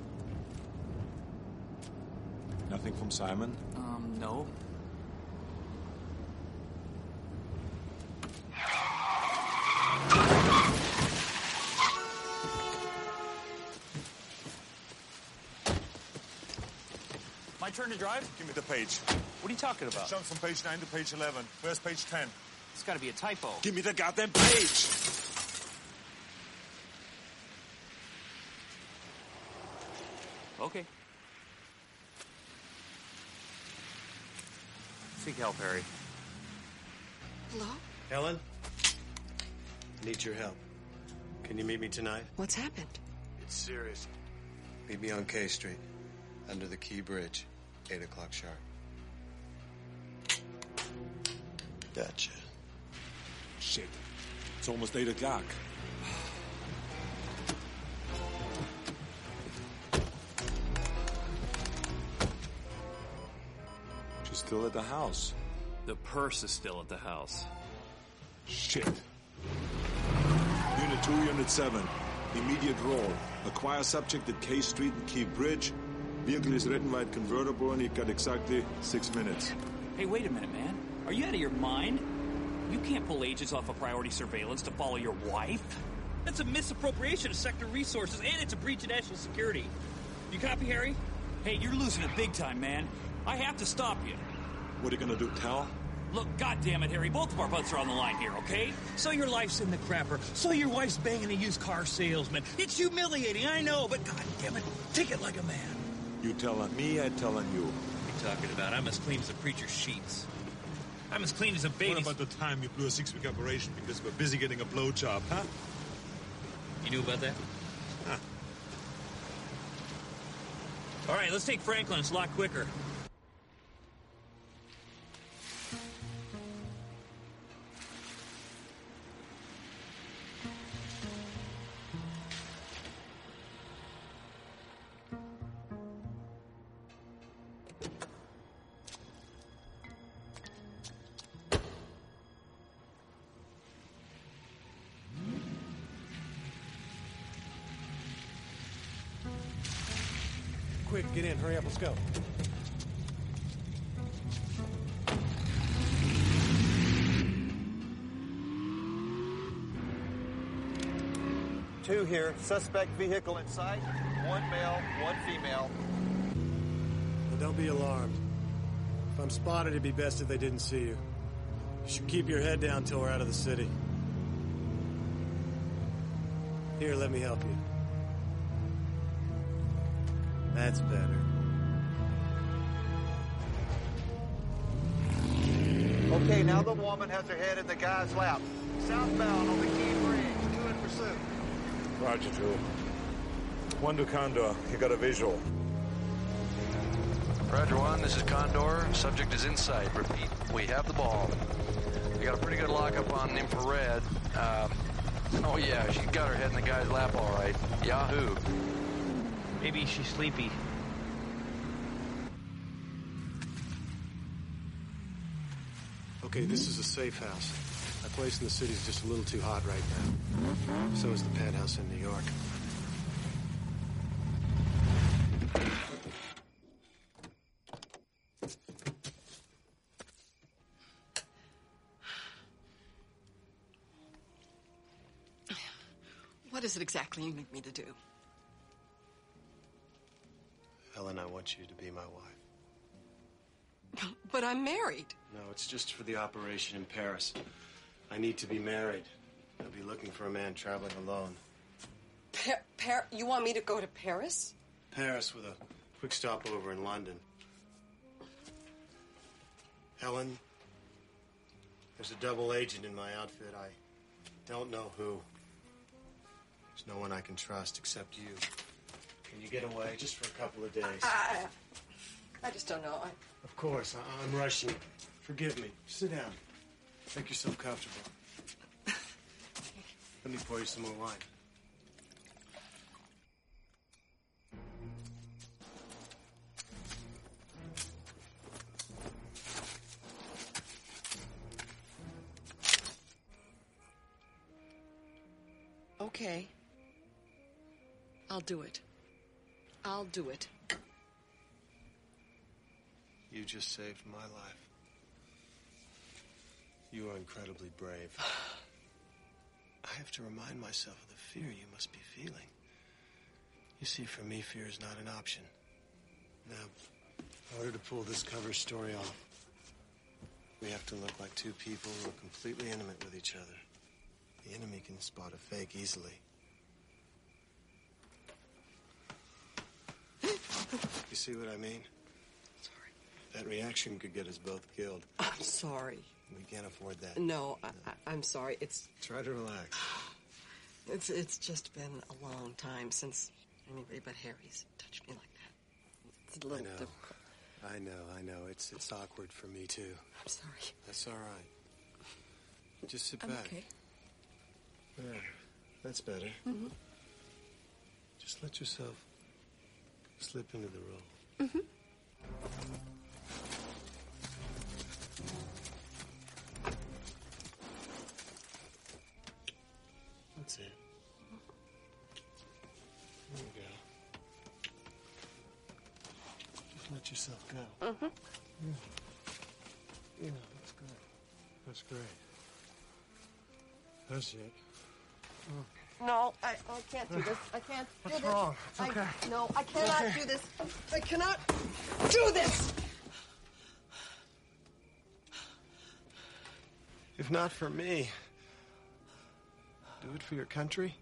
Nothing from Simon? Um, no. My turn to drive? Give me the page. What are you talking about? Jump from page nine to page eleven. Where's page ten? It's got to be a typo. Give me the goddamn page! Okay. Seek help, Harry. Hello? Helen? I need your help. Can you meet me tonight? What's happened? It's serious. Meet me on K Street, under the Key Bridge, eight o'clock sharp. Gotcha. Shit. It's almost eight o'clock. She's still at the house. The purse is still at the house. Shit. Unit two, Unit seven. Immediate roll. Acquire subject at K Street and Key Bridge. Vehicle is red and white convertible, and you got exactly six minutes. Hey, wait a minute, man. Are you out of your mind? You can't pull agents off of priority surveillance to follow your wife. That's a misappropriation of sector resources, and it's a breach of national security. You copy, Harry? Hey, you're losing it big time, man. I have to stop you. What are you gonna do, tell? Look, goddammit, Harry, both of our butts are on the line here, okay? So your life's in the crapper. So your wife's banging a used car salesman. It's humiliating, I know, but goddammit, take it like a man. You telling me, I telling you. What are you talking about? I'm as clean as a preacher's sheets. I'm as clean as a baby. What about the time you blew a six-week operation because we're busy getting a blowjob, huh? You knew about that? Huh. All right, let's take Franklin. It's a lot quicker. Quick, get in. Hurry up. Let's go. Two here. Suspect vehicle in sight. One male, one female. Well, don't be alarmed. If I'm spotted, it'd be best if they didn't see you. You should keep your head down till we're out of the city. Here, let me help you. That's better. Okay, now the woman has her head in the guy's lap. Southbound on the Key Bridge. Two in pursuit. Roger, two. One to Condor. You got a visual. Roger one, this is Condor. Subject is in sight. Repeat, we have the ball. We got a pretty good lockup on infrared. Um, oh yeah, she's got her head in the guy's lap all right. Yahoo. Maybe she's sleepy. Okay, this is a safe house. My place in the city's just a little too hot right now. So is the penthouse in New York. What is it exactly you need me to do? Helen, I want you to be my wife. But I'm married. No, it's just for the operation in Paris. I need to be married. I'll be looking for a man traveling alone. Pa- Par- you want me to go to Paris? Paris with a quick stopover in London. Helen, there's a double agent in my outfit. I don't know who. There's no one I can trust except you. Can you get away just for a couple of days? I, I just don't know. I... Of course, I- I'm rushing. Forgive me. Sit down. Make yourself comfortable. Let me pour you some more wine. Okay. I'll do it. I'll do it. You just saved my life. You are incredibly brave. I have to remind myself of the fear you must be feeling. You see, for me, fear is not an option. Now, in order to pull this cover story off, we have to look like two people who are completely intimate with each other. The enemy can spot a fake easily. You see what I mean? Sorry. That reaction could get us both killed. I'm sorry. We can't afford that. No, I, I, I'm sorry. It's Try to relax. it's it's just been a long time since anybody but Harry's touched me like that. It's a I little know. difficult. I know, I know. It's it's awkward for me, too. I'm sorry. That's all right. Just sit I'm back. okay. There. That's better. Mm-hmm. Just let yourself slip into the role. Mm-hmm. That's it. There you go. Just let yourself go. Mm-hmm. Yeah. Yeah, that's good. That's great. That's it. Oh. No, I, I can't do this. I can't do What's this. wrong? It's okay. I, no, I cannot Okay. do this. I cannot do this. If not for me, do it for your country?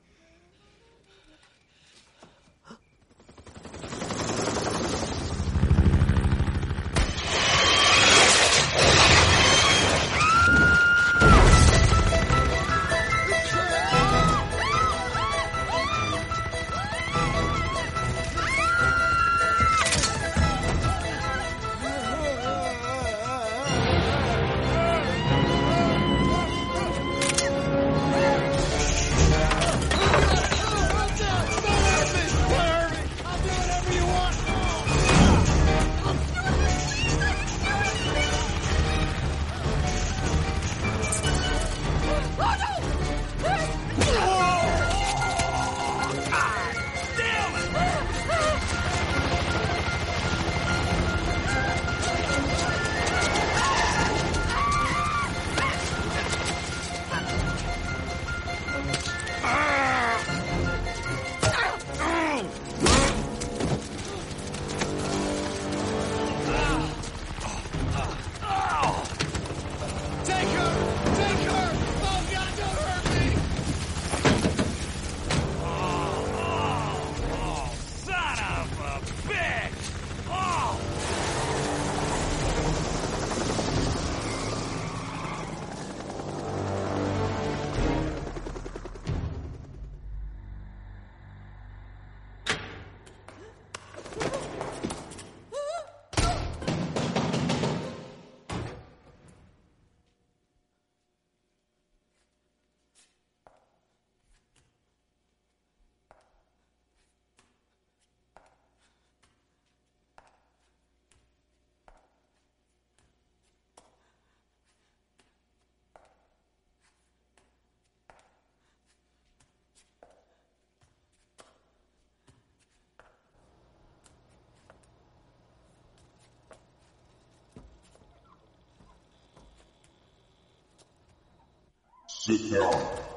Sit down.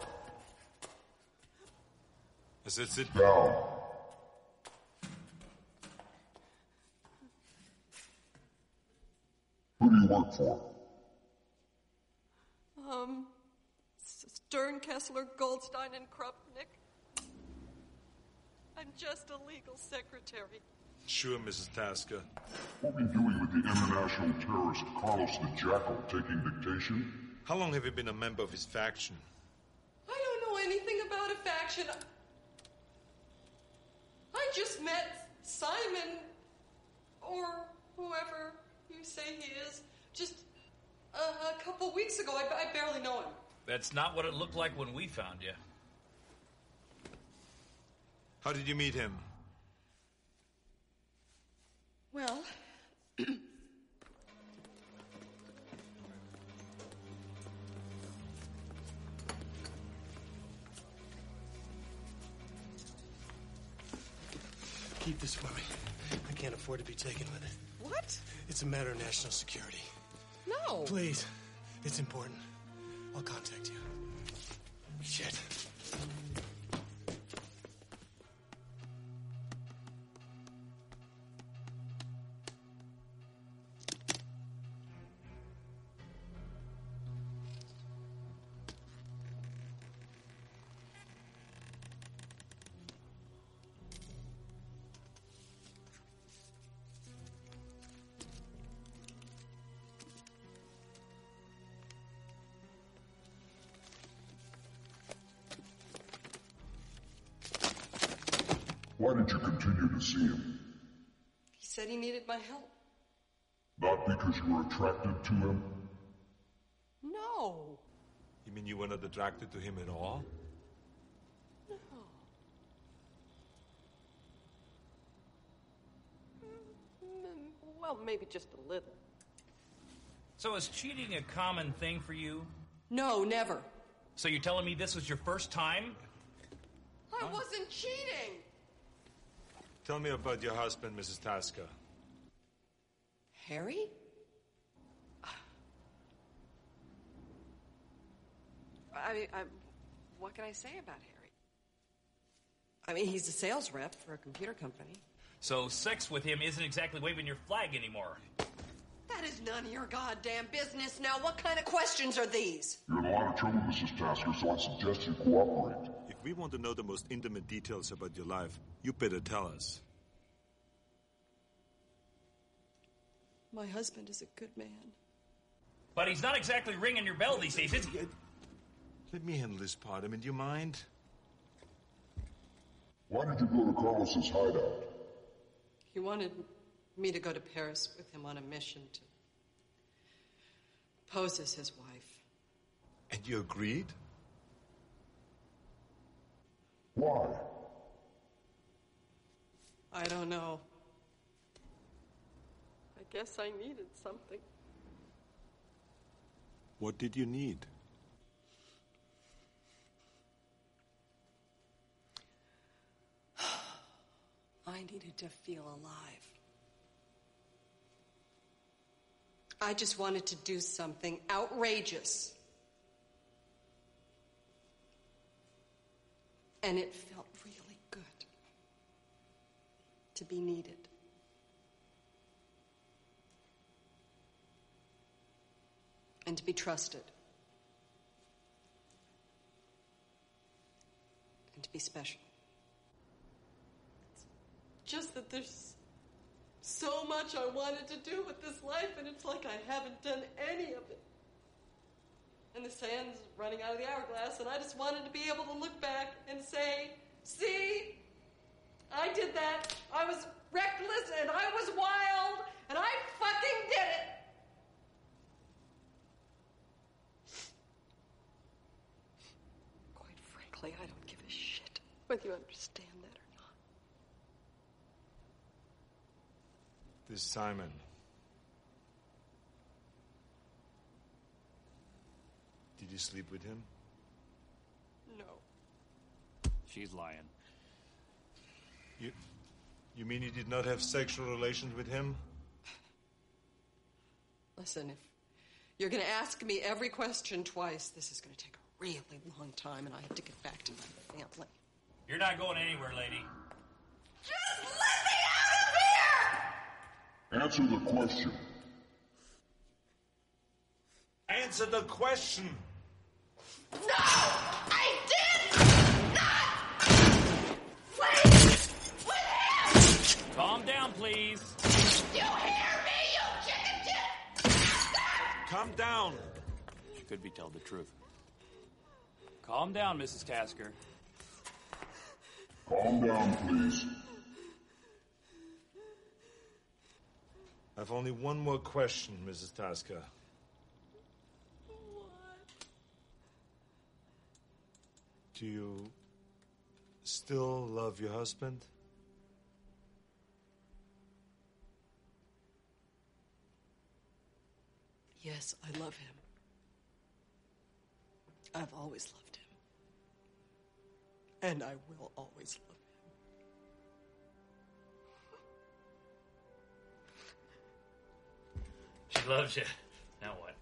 I said sit down. Who do you work for? Um, Stern, Kessler, Goldstein, and Krupnik. I'm just a legal secretary. Sure, Missus Tasker. What were you doing with the international terrorist Carlos the Jackal taking dictation? How long have you been a member of his faction? I don't know anything about a faction. I just met Simon, or whoever you say he is, just a, a couple weeks ago. I, I barely know him. That's not what it looked like when we found you. How did you meet him? Well, Keep this for me. I can't afford to be taken with it. What? It's a matter of national security. No. Please. It's important. I'll contact you. Shit. Why did you continue to see him? He said he needed my help. Not because you were attracted to him? No. You mean you were not attracted to him at all? No. Well, maybe just a little. So is cheating a common thing for you? No, never. So you're telling me this was your first time? I wasn't cheating. Tell me about your husband, Missus Tasker. Harry? I mean, I, what can I say about Harry? I mean, he's a sales rep for a computer company. So sex with him isn't exactly waving your flag anymore. That is none of your goddamn business. Now, what kind of questions are these? You're in a lot of trouble, Missus Tasker, so I suggest you cooperate. If we want to know the most intimate details about your life, you better tell us. My husband is a good man. But he's not exactly ringing your bell these days, is he? Let me handle this part. I mean, do you mind? Why did you go to Carlos's hideout? He wanted me to go to Paris with him on a mission to pose as his wife. And you agreed? Why? I don't know. I guess I needed something. What did you need? I needed to feel alive. I just wanted to do something outrageous. And it felt really good to be needed. And to be trusted. And to be special. Just that there's so much I wanted to do with this life, and it's like I haven't done any of it. And the sand's running out of the hourglass, and I just wanted to be able to look back and say, see, I did that. I was reckless, and I was wild, and I fucking did it. Quite frankly, I don't give a shit whether you understand that or not. This Simon. Did you sleep with him? No. She's lying. You, you mean you did not have sexual relations with him? Listen, if you're going to ask me every question twice, this is going to take a really long time, and I have to get back to my family. You're not going anywhere, lady. Just let me out of here! Answer the question. Answer the question. No! I did not sleep with him! Calm down, please. You hear me, you chicken shit? Calm down. She could be telling the truth. Calm down, Missus Tasker. Calm down, please. I've only one more question, Missus Tasker. Do you still love your husband? Yes, I love him. I've always loved him. And I will always love him. She loves you. Now what?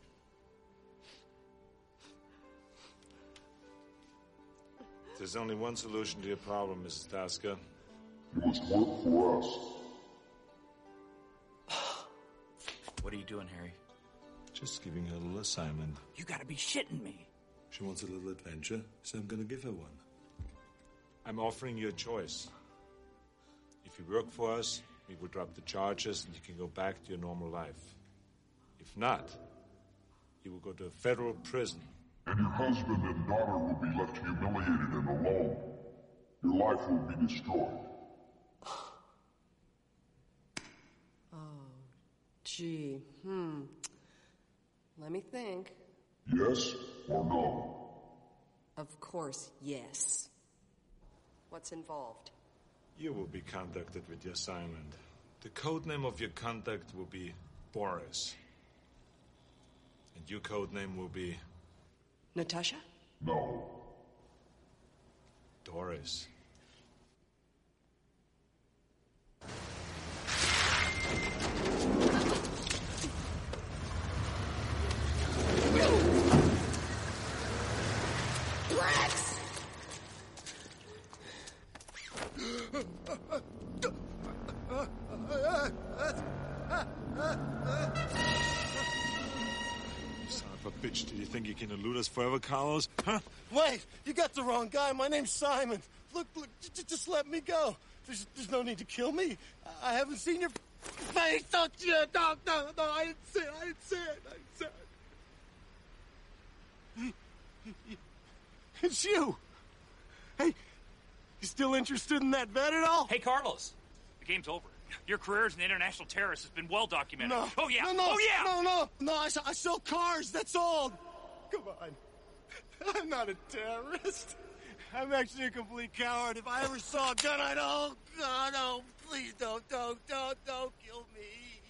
There's only one solution to your problem, Missus Tasker. You must work for us. What are you doing, Harry? Just giving her a little assignment. You gotta be shitting me. She wants a little adventure, so I'm gonna give her one. I'm offering you a choice. If you work for us, we will drop the charges and you can go back to your normal life. If not, you will go to a federal prison. And your husband and daughter will be left humiliated and alone. Your life will be destroyed. Oh, gee. Hmm. Let me think. Yes or no? Of course, yes. What's involved? You will be contacted with your assignment. The code name of your contact will be Boris. And your code name will be... Natasha? No. Doris. Rex! bitch. Did you think you can elude us forever, Carlos? Huh? Wait, you got the wrong guy. My name's Simon. Look, look, j- just let me go. There's, there's no need to kill me. I haven't seen your face. Don't you? No, no, no, I didn't see it. I didn't see it. I didn't see it. It's you. Hey, you still interested in that vet at all? Hey, Carlos, the game's over. Your career as an international terrorist has been well documented. No. Oh, yeah. No, no. Oh, yeah. No, no. No, I, I sell cars. That's all. Come on. I'm not a terrorist. I'm actually a complete coward. If I ever saw a gun, I'd... Oh, God, oh, please don't, don't, don't, don't kill me.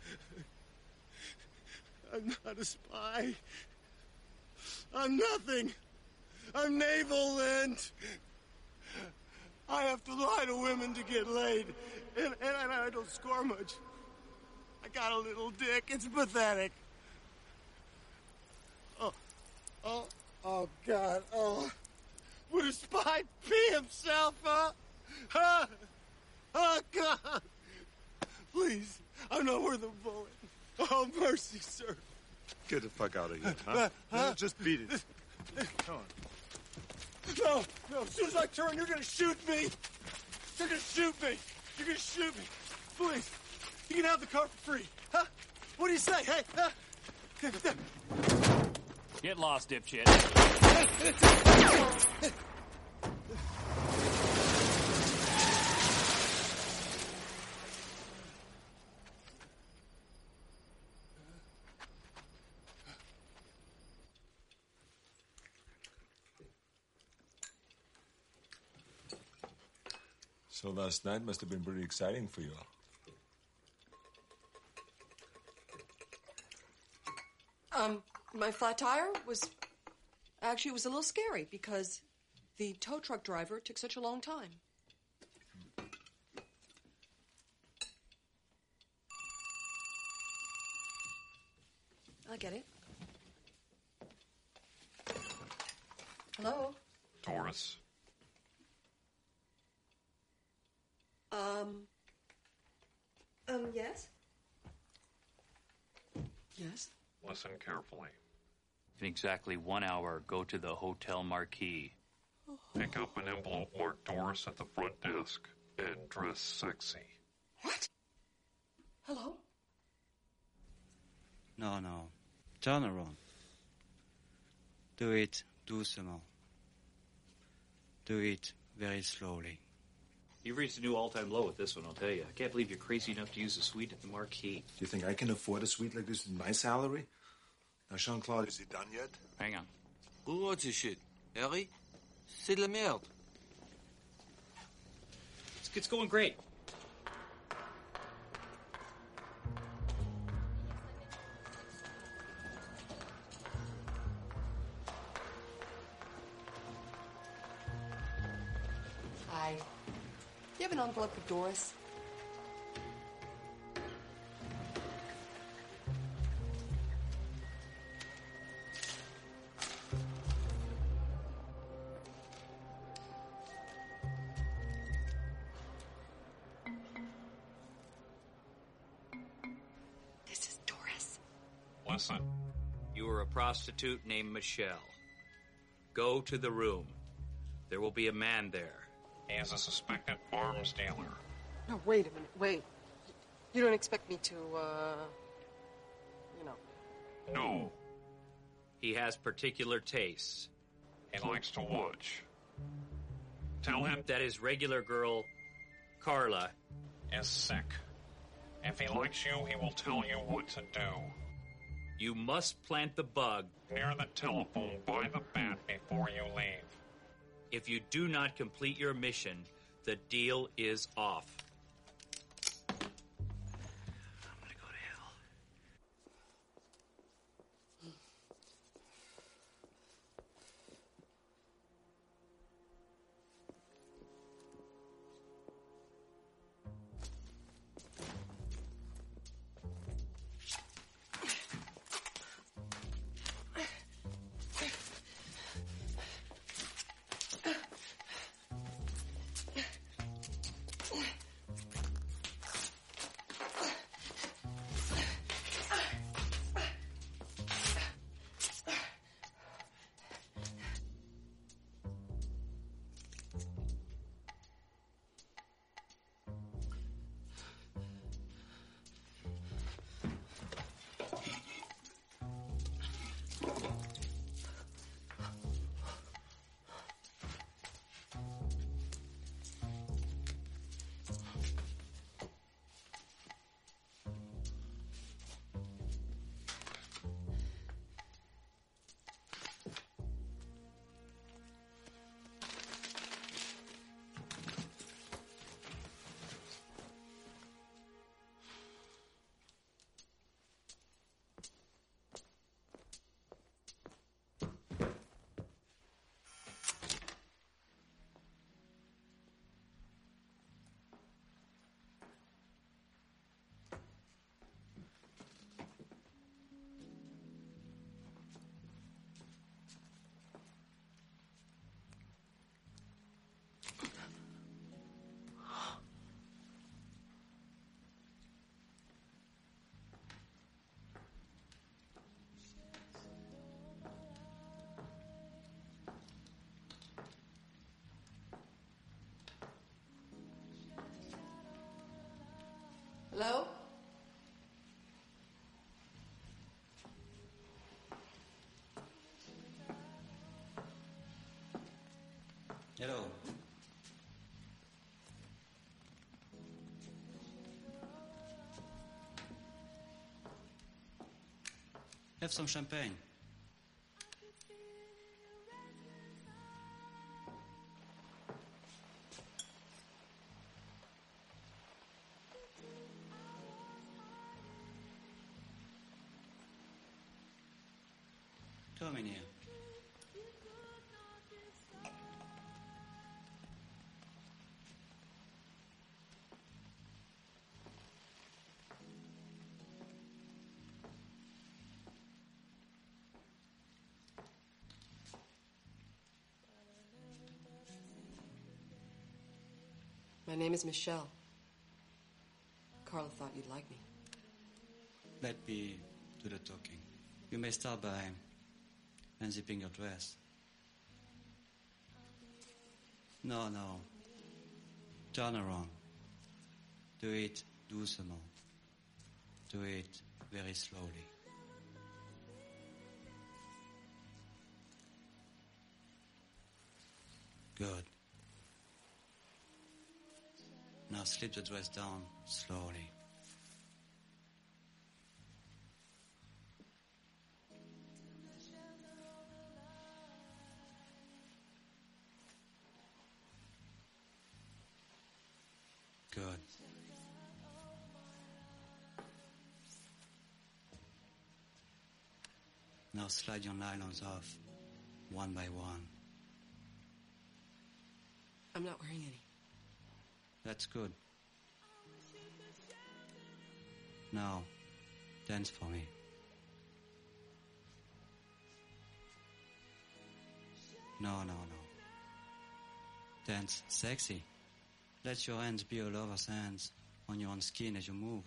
I'm not a spy. I'm nothing. I'm naval Lent. I have to lie to women to get laid. And, and, and I don't score much. I got a little dick. It's pathetic. Oh, oh, oh, God. Oh, would a spy pee himself, huh? Huh? Oh, God. Please, I'm not worth a bullet. Oh, mercy, sir. Get the fuck out of here, huh? Huh? Just beat it. Come on. No, no, as soon as I turn, you're gonna shoot me. You're gonna shoot me. You're gonna shoot me. Please, you can have the car for free. Huh? What do you say? Hey, huh? Get lost, dipshit. So last night must have been pretty exciting for you. Um, my flat tire was... Actually, it was a little scary because the tow truck driver took such a long time. I get it. Hello? Doris. Um... Um, yes? Yes? Listen carefully. In exactly one hour, go to the Hotel Marquis. Pick up an envelope marked Doris at the front desk and dress sexy. What? Hello? No, no. Turn around. Do it too small. Do it very slowly. You've reached a new all-time low with this one, I'll tell you. I can't believe you're crazy enough to use a suite at the Marquis. Do you think I can afford a suite like this with my salary? Now, Jean-Claude, is he done yet? Hang on. What's this shit? Harry? C'est de la merde. It's, it's going great. Hi. You have an envelope for Doris? This is Doris. Listen. You are a prostitute named Michelle. Go to the room. There will be a man there. He is a suspected arms dealer. No, wait a minute. Wait. You don't expect me to, uh... You know. No. He has particular tastes. He likes to watch. Tell him that his regular girl, Carla, is sick. If he likes you, he will tell you what to do. You must plant the bug near the telephone by the bat before you leave. If you do not complete your mission, the deal is off. I'm gonna go to hell. Hello? Hello. Have some champagne. Come in here. My name is Michelle. Carla thought you'd like me. Let me do the talking. You may start by unzipping your dress. No, no. Turn around. Do it doucement. Do it very slowly. Good. Now slip the dress down slowly. Good. Now slide your nylons off, one by one. I'm not wearing any. That's good. Now, dance for me. No, no, no. Dance sexy. Let your hands be all over hands on your own skin as you move.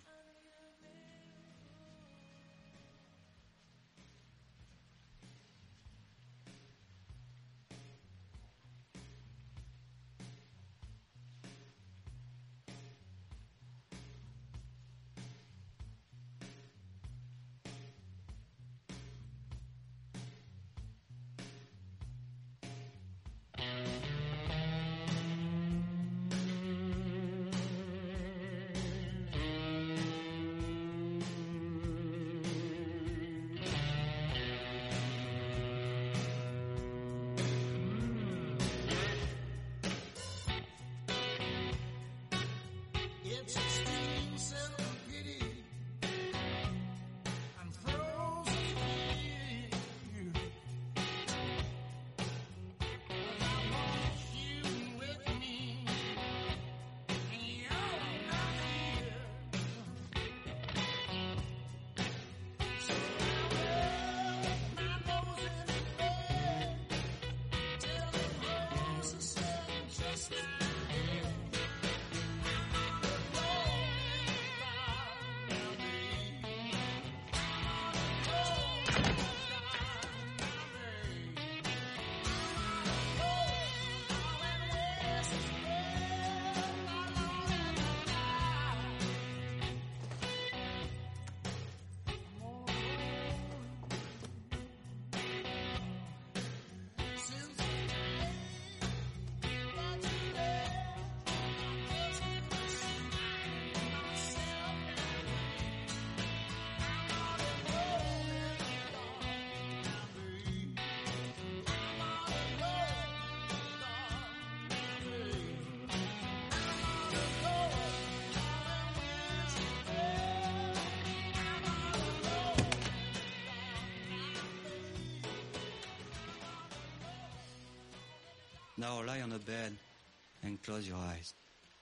Now lie on the bed and close your eyes.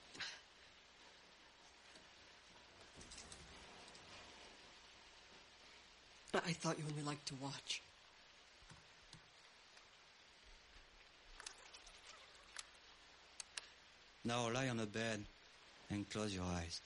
I thought you only liked to watch. Now lie on the bed and close your eyes.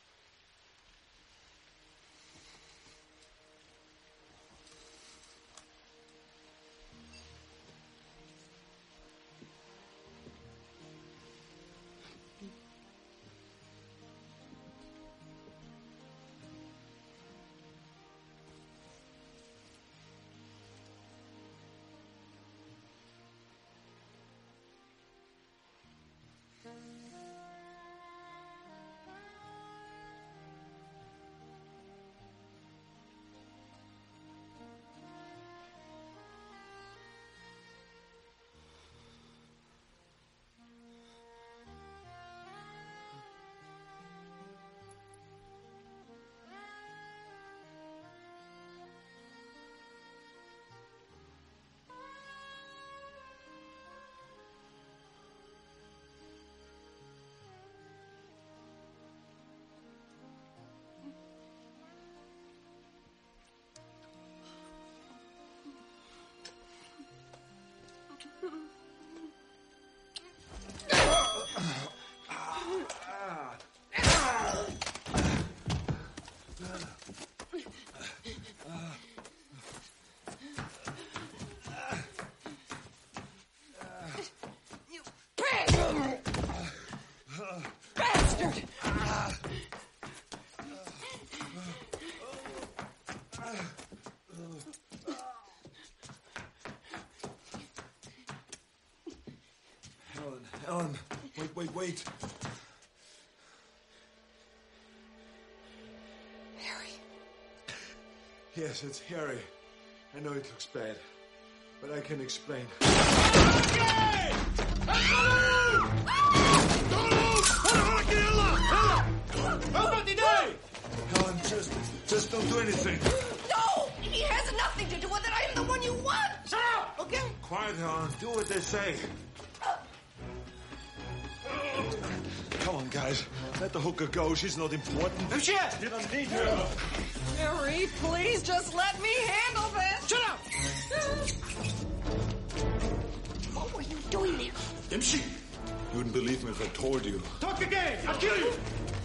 Helen, wait, wait, wait. Harry. Yes, it's Harry. I know it looks bad, but I can explain. Helen, just, just don't do anything. No! He has nothing to do with it. I am the one you want. Shut up! Okay? Quiet, Helen. Do what they say. Come on, guys. Let the hooker go. She's not important. Oh, shit! You don't need her. Harry, please just let me handle this. Shut up! What were you doing there? Imshi! You wouldn't believe me if I told you. Talk again! I'll kill you!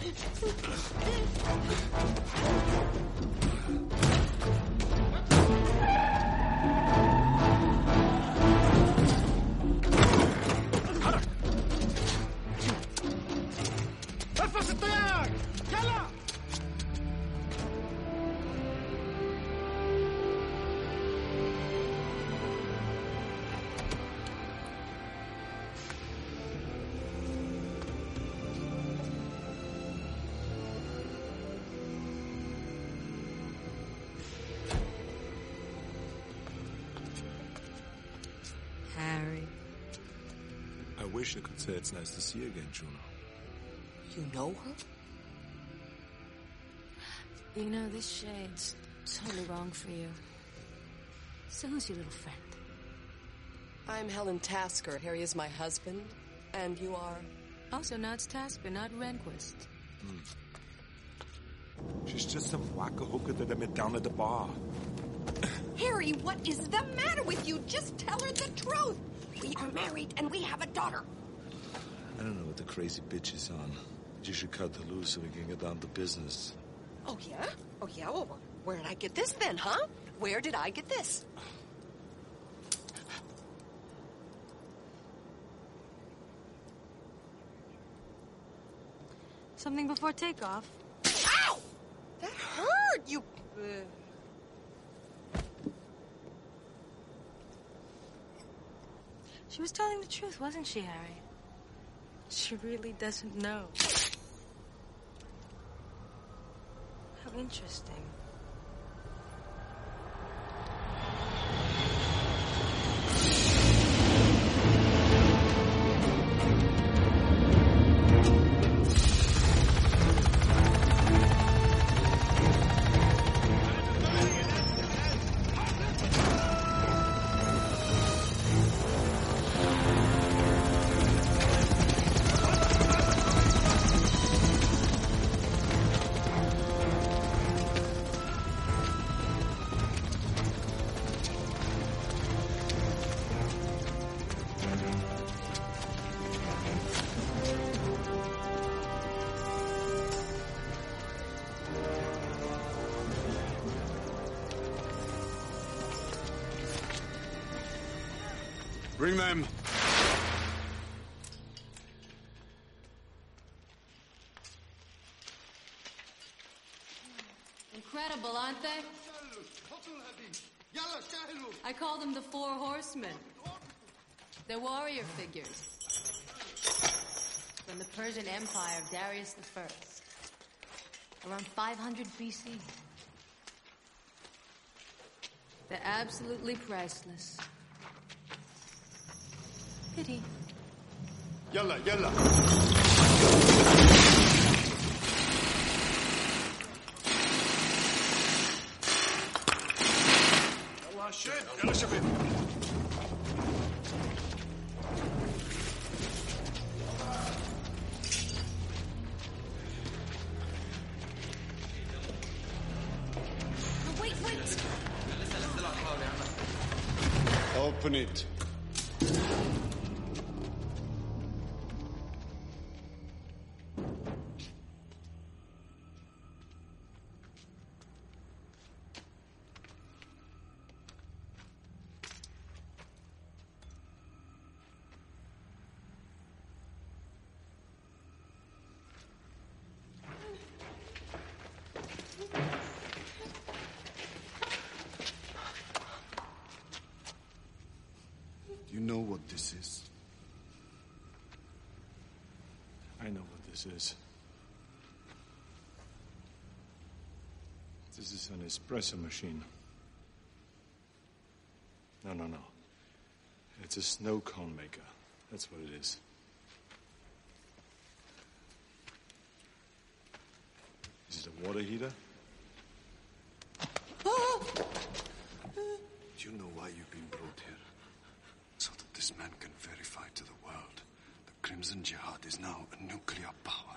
الفس الطيار! يلا! Harry. I wish I could say it's nice to see you again, Juno. You know her? You know, this shade's totally wrong for you. So who's your little friend? I'm Helen Tasker. Harry is my husband. And you are? Also, now it's Tasker, not Rehnquist. Hmm. She's just some wacko hooker that I met down at the bar. Harry, what is the matter with you? Just tell her the truth. We are married and we have a daughter. I don't know what the crazy bitch is on. You should cut her loose so we can get down to business. Oh, yeah? Oh, yeah? Well, where did I get this then, huh? Where did I get this? Something before takeoff. Ow! That hurt, you... Uh... She was telling the truth, wasn't she, Harry? She really doesn't know. How interesting. Bring them. Incredible, aren't they? I call them the Four Horsemen. They're warrior figures. From the Persian Empire of Darius the First. Around five hundred B C. They're absolutely priceless. Pity. Yalla, yalla. يلا شد يلا شباب. Wait, wait. Open it. You know what this is? I know what this is. This is an espresso machine. No, no, no. It's a snow cone maker. That's what it is. Is it a water heater? Do you know why you've been brought here? So that this man can verify to the world the Crimson Jihad is now a nuclear power.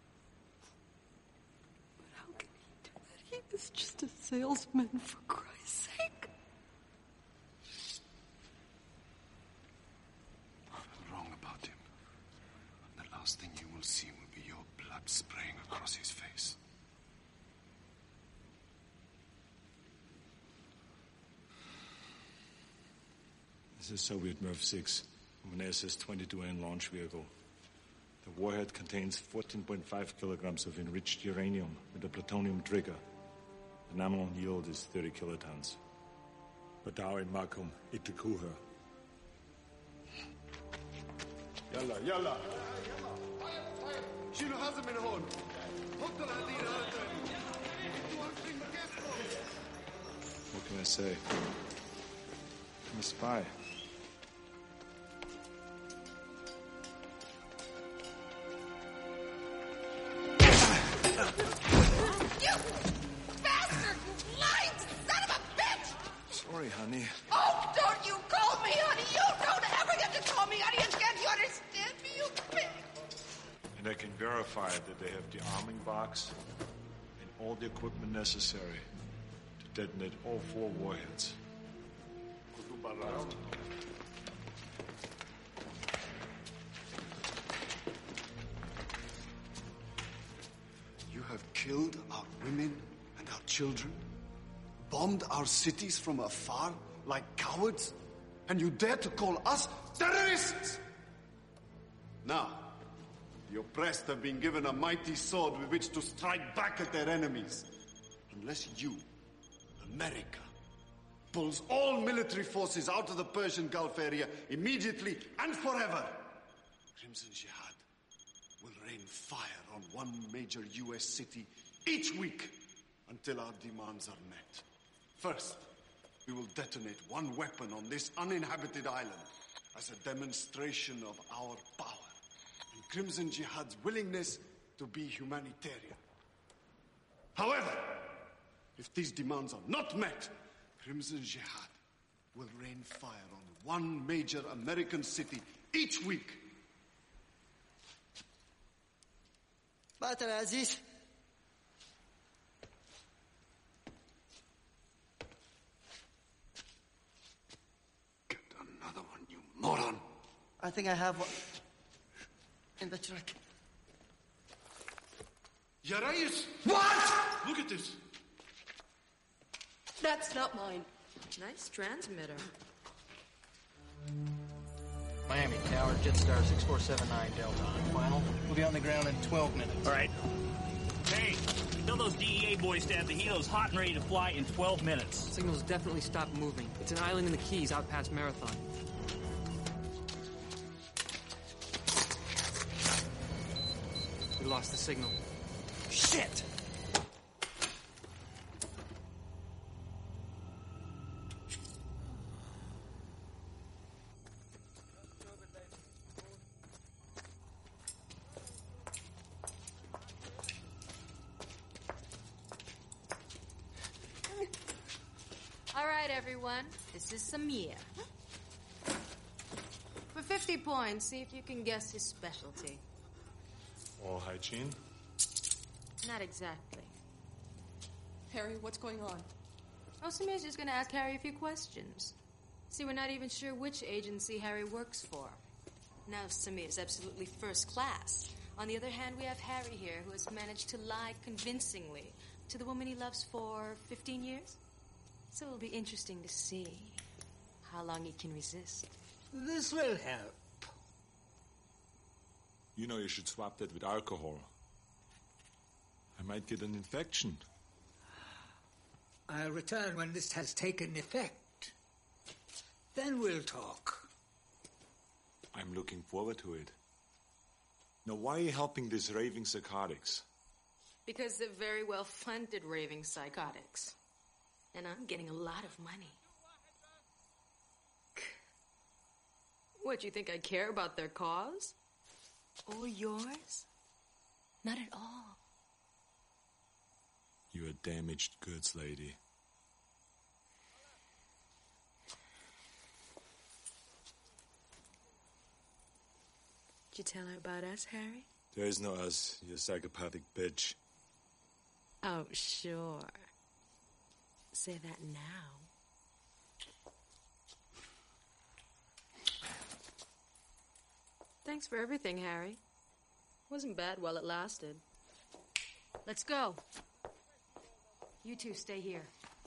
But how can he do that? He was just a salesman, for Christ's sake. I'm wrong about him. And the last thing you will see will be your blood spraying across his face. This is Soviet Merv six, an S S twenty-two N launch vehicle. The warhead contains fourteen point five kilograms of enriched uranium with a plutonium trigger. The nominal yield is thirty kilotons. Badar in Makum, Itikuha. Yalla, yalla. شيلوا حازم من هون. حطوا الهدير هذا. What can I say? I'm a spy. You bastard! Lying son of a bitch! Sorry, honey. Oh, don't you call me honey! You don't ever get to call me honey! And can't you understand me, you pig? And I can verify that they have the arming box and all the equipment necessary to detonate all four warheads. You have killed our women and our children, bombed our cities from afar like cowards, and you dare to call us terrorists! Now, the oppressed have been given a mighty sword with which to strike back at their enemies. Unless you, America, pulls all military forces out of the Persian Gulf area immediately and forever, Crimson Jihad will rain fire on one major U S city each week until our demands are met. First, we will detonate one weapon on this uninhabited island as a demonstration of our power and Crimson Jihad's willingness to be humanitarian. However, if these demands are not met, Crimson Jihad will rain fire on one major American city each week. Batar Aziz. Get another one, you moron. I think I have one in the truck. Ya Reyes! What? Look at this. That's not mine. Nice transmitter. Miami Tower, Jetstar six four seven nine Delta. Final. We'll be on the ground in twelve minutes. All right. Hey, tell those D E A boys to have the helos hot and ready to fly in twelve minutes. Signal's definitely stopped moving. It's an island in the Keys out past Marathon. We lost the signal. Shit! All right, everyone. This is Samir. For fifty points, see if you can guess his specialty. All hygiene? Not exactly. Harry, what's going on? Oh, Samir's just gonna ask Harry a few questions. See, we're not even sure which agency Harry works for. Now, Samir is absolutely first class. On the other hand, we have Harry here, who has managed to lie convincingly to the woman he loves for fifteen years. So it'll be interesting to see how long he can resist. This will help. You know you should swap that with alcohol. I might get an infection. I'll return when this has taken effect. Then we'll talk. I'm looking forward to it. Now, why are you helping these raving psychotics? Because they're very well funded raving psychotics. And I'm getting a lot of money. What, you think I care about their cause? Or yours? Not at all. You're a damaged goods lady. Did you tell her about us, Harry? There is no us, you psychopathic bitch. Oh, sure. Say that now. Thanks for everything, Harry. Wasn't bad while it lasted. Let's go. You two stay here.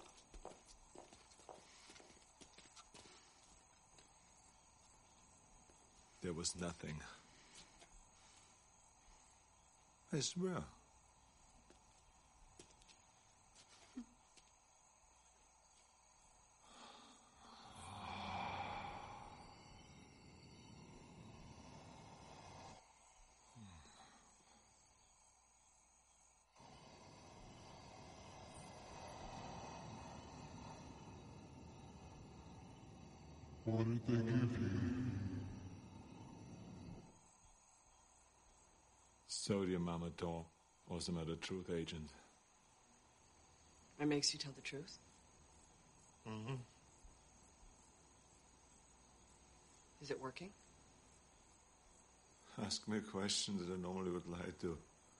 There was nothing. I swear. What did they give you? Sodium Amador, also not a truth agent. It makes you tell the truth? Mm-hmm. Is it working? Ask me a question that I normally would lie to.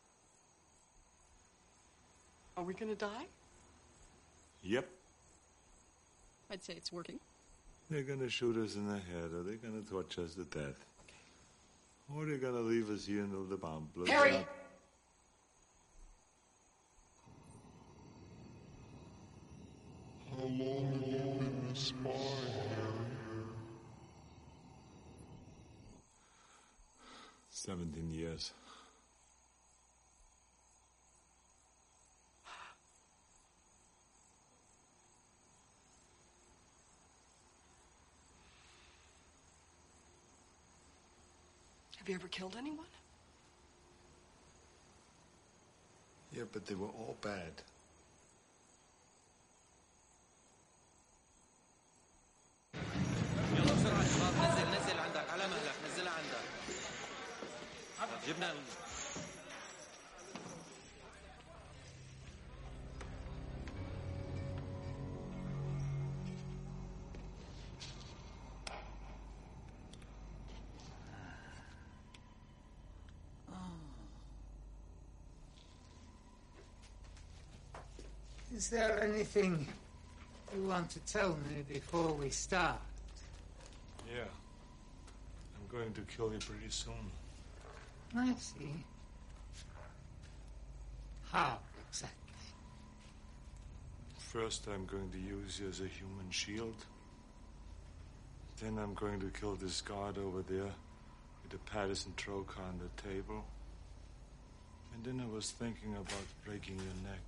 Are we gonna die? Yep. I'd say it's working. They're gonna shoot us in the head, or they're gonna torture us to death. Or they're gonna leave us here until the bomb blows Harry! up. How long have you been a spy, Harry? Seventeen years. Have you ever killed anyone? Yeah, but they were all bad. يلا بسرعة يا شباب نزل نزل عندك على مهلك نزلها عندك جبنا ال... Is there anything you want to tell me before we start? Yeah. I'm going to kill you pretty soon. I see. How exactly? First, I'm going to use you as a human shield. Then I'm going to kill this guard over there with the Patterson trocar on the table. And then I was thinking about breaking your neck.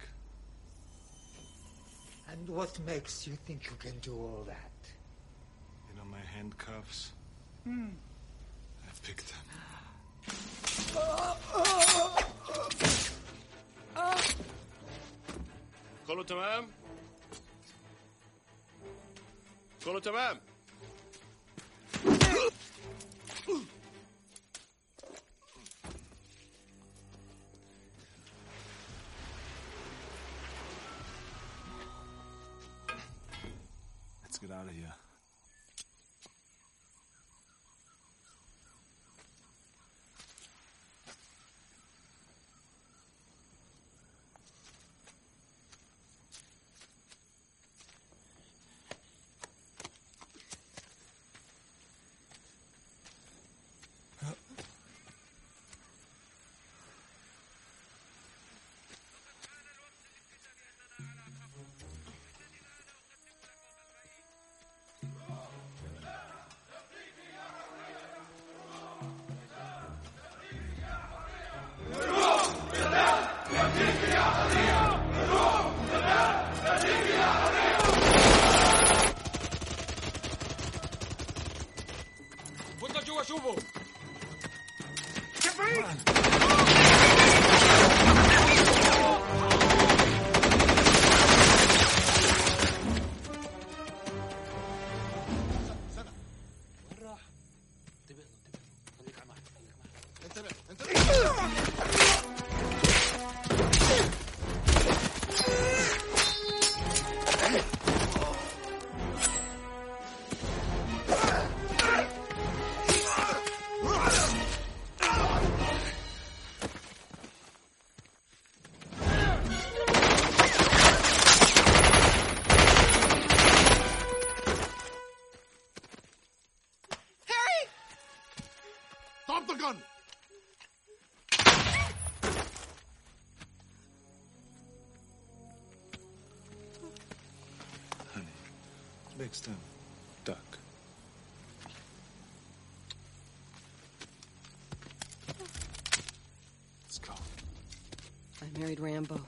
And what makes you think you can do all that? You know my handcuffs? Hmm. I picked them. كله تمام؟ كله تمام؟ Let's get out of here. فوتنا جوا شوفوا Next time, duck. Let's go. I married Rambo.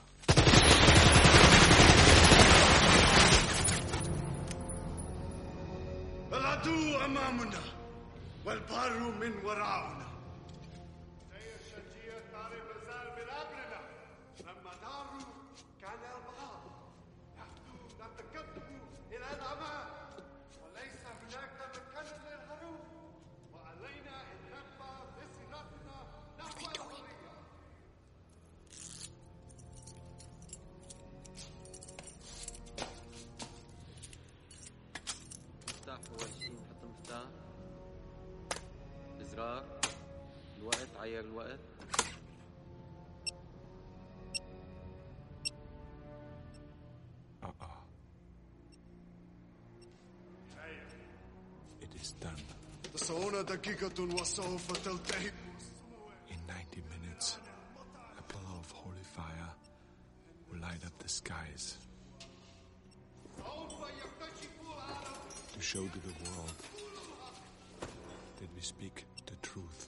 العدو أمامنا والبار من وراءنا. زي الشجية طاري مازال بلابنا لما داروا كان البعض يهدوا نتكبوا إلى الأمان وليس هناك مكان للهروب وعلينا أن نبقى بصلتنا نحو الحرية. مفتاح أول شي نحط المفتاح الزرار الوقت عير الوقت Uh-uh. It is done. تصعون دقيقة وسوف تلتهب. In ninety minutes, a pillar of holy fire will light up the skies to show to the world that we speak the truth.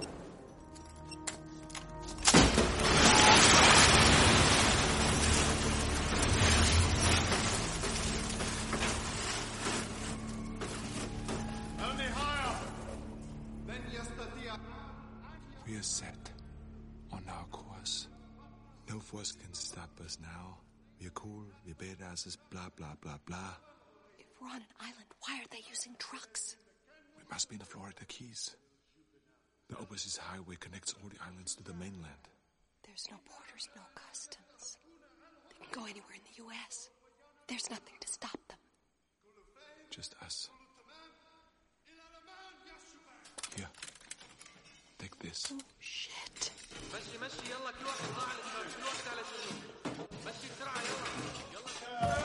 We are set on our course. No force can stop us now. We are cool, we are badasses, blah, blah, blah, blah. If we're on an island, why are they using trucks? We must be in the Florida Keys. The overseas highway connects all the islands to the mainland. There's no borders, no customs. They can go anywhere in the U S. There's nothing to stop them. Just us. Here. Take this. Oh, shit. مشي مشي يلا كل واحد طلع على الشمال كل واحد على شمال مشي بسرعة يلا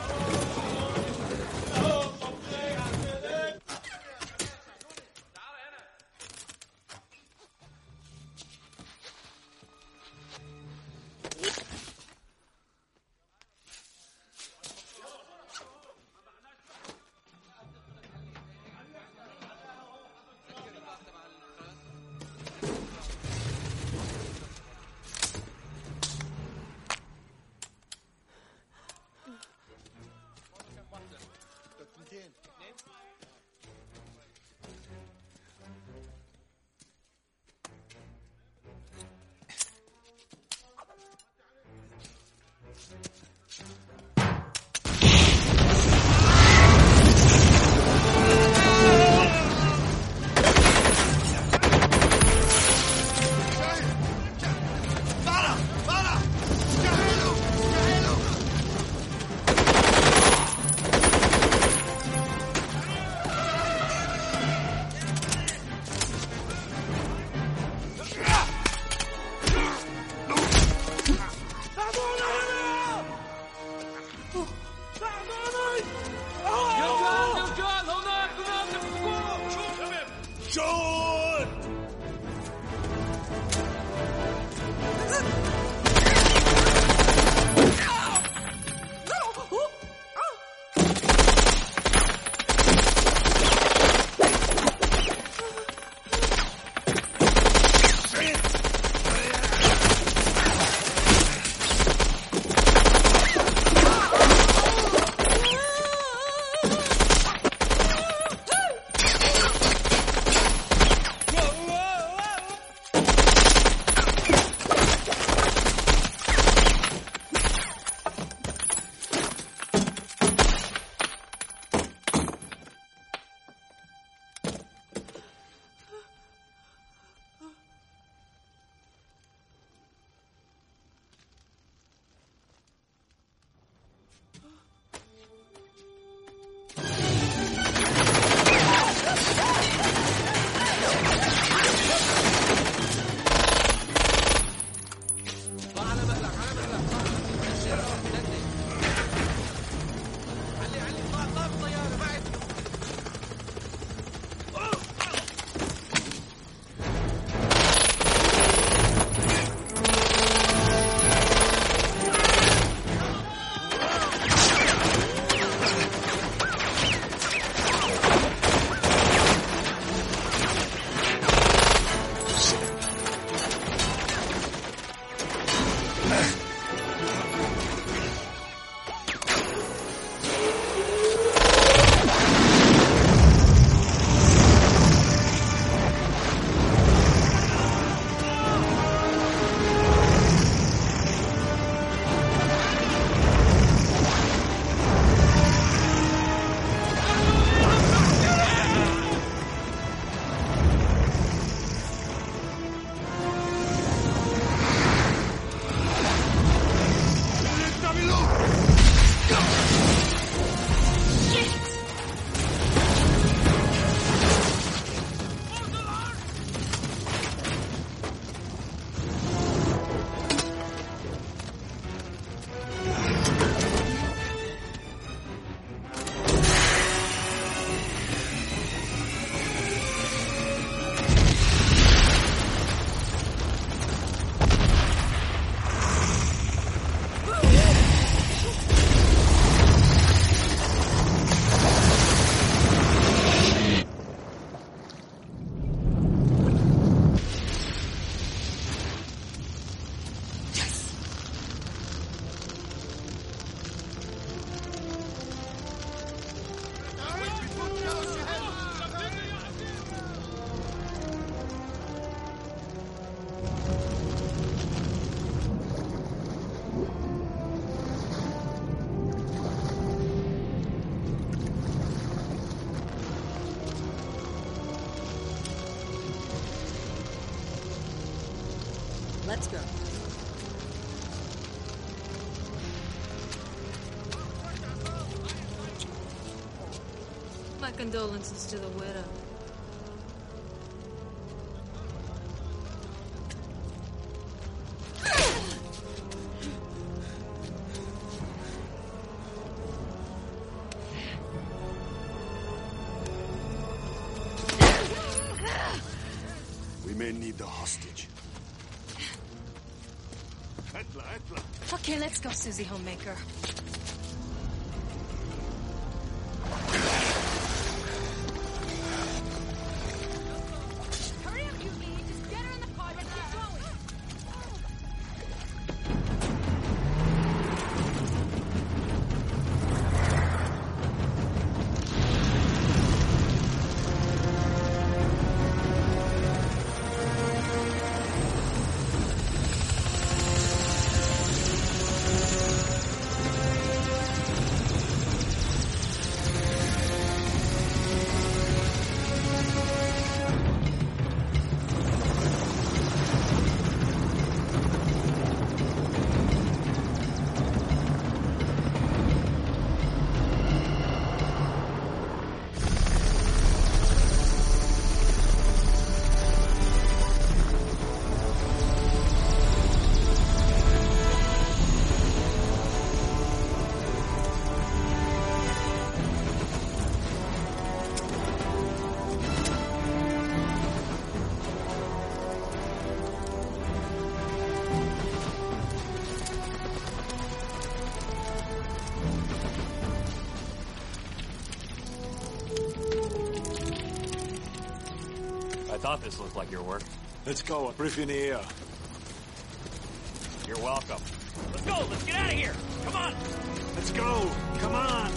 Let's go. My condolences to the widow. We may need the hostage. Etla, Etla. Okay, let's go, Susie Homemaker. Hurry up, you idiot. Just get her in the car and keep going. I thought this looked like your work. Let's go. A brief in the air. You're welcome. Let's go. Let's get out of here. Come on. Let's go. Come on.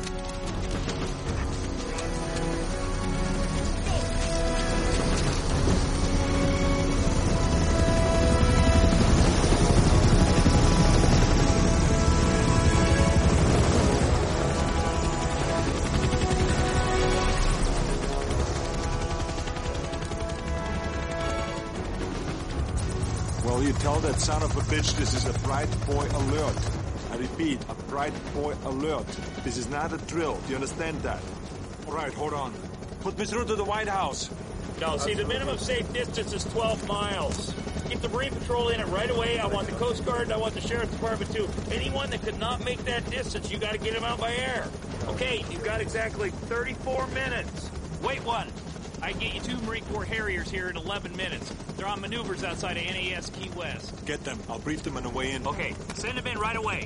Well, you tell that son of a bitch this is a Bright Boy alert. I repeat, a Bright Boy alert. This is not a drill. Do you understand that? All right, hold on. Put me through to the White House. No, see, the minimum safe distance is twelve miles. Keep the Marine Patrol in it right away. I want the Coast Guard and I want the Sheriff's Department too. Anyone that could not make that distance, you got to get them out by air. Okay, you've got exactly thirty-four minutes. Wait one. I can get you two Marine Corps Harriers here in eleven minutes. They're on maneuvers outside of N A S Key West. Get them. I'll brief them on the way in. Okay, send them in right away.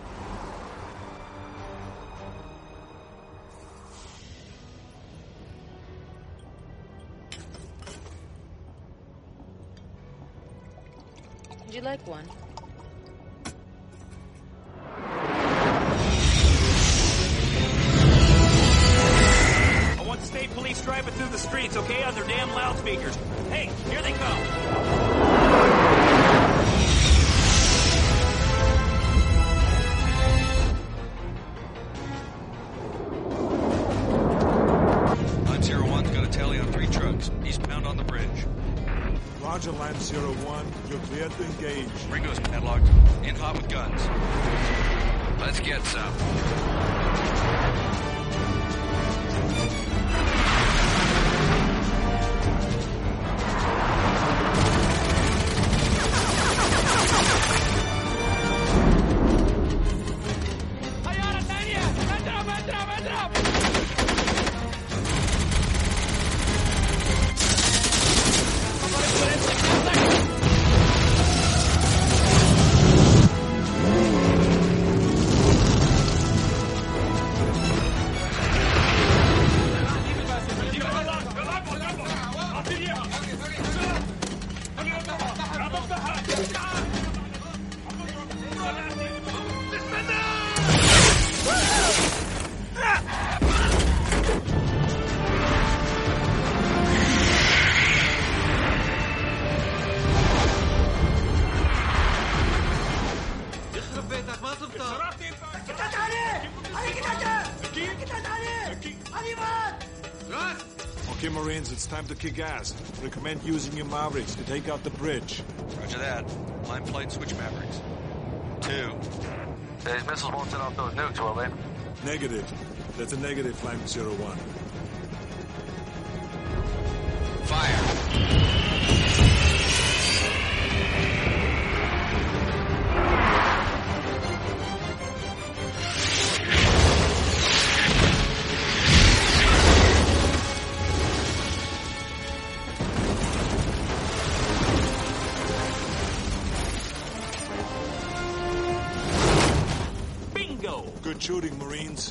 Would you like one? I want the state police driving through the streets, okay, on their damn loudspeakers. Hey, here they come. Line Zero One's got a tally on three trucks, eastbound on the bridge. Roger, Line Zero One. You're clear to engage. Ringo's padlocked. In hot with guns. Let's get some. Okay, Marines, it's time to kick ass. Recommend using your Mavericks to take out the bridge. Roger that. Line flight, switch Mavericks. Two. These missiles won't set off those nukes, will they? Negative. That's a negative, Flying Zero One. Fire. Good shooting, Marines.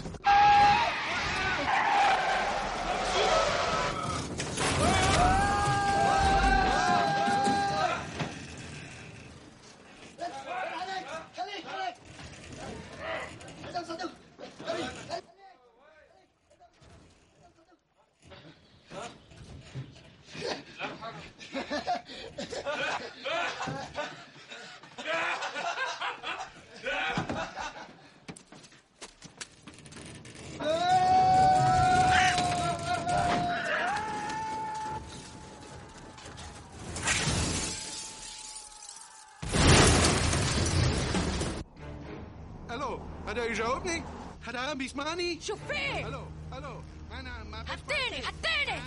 Hello, هذا يجاوبني؟ هذا بيسمعني؟ شوفيه! الو الو انا ما حطيني حطيني!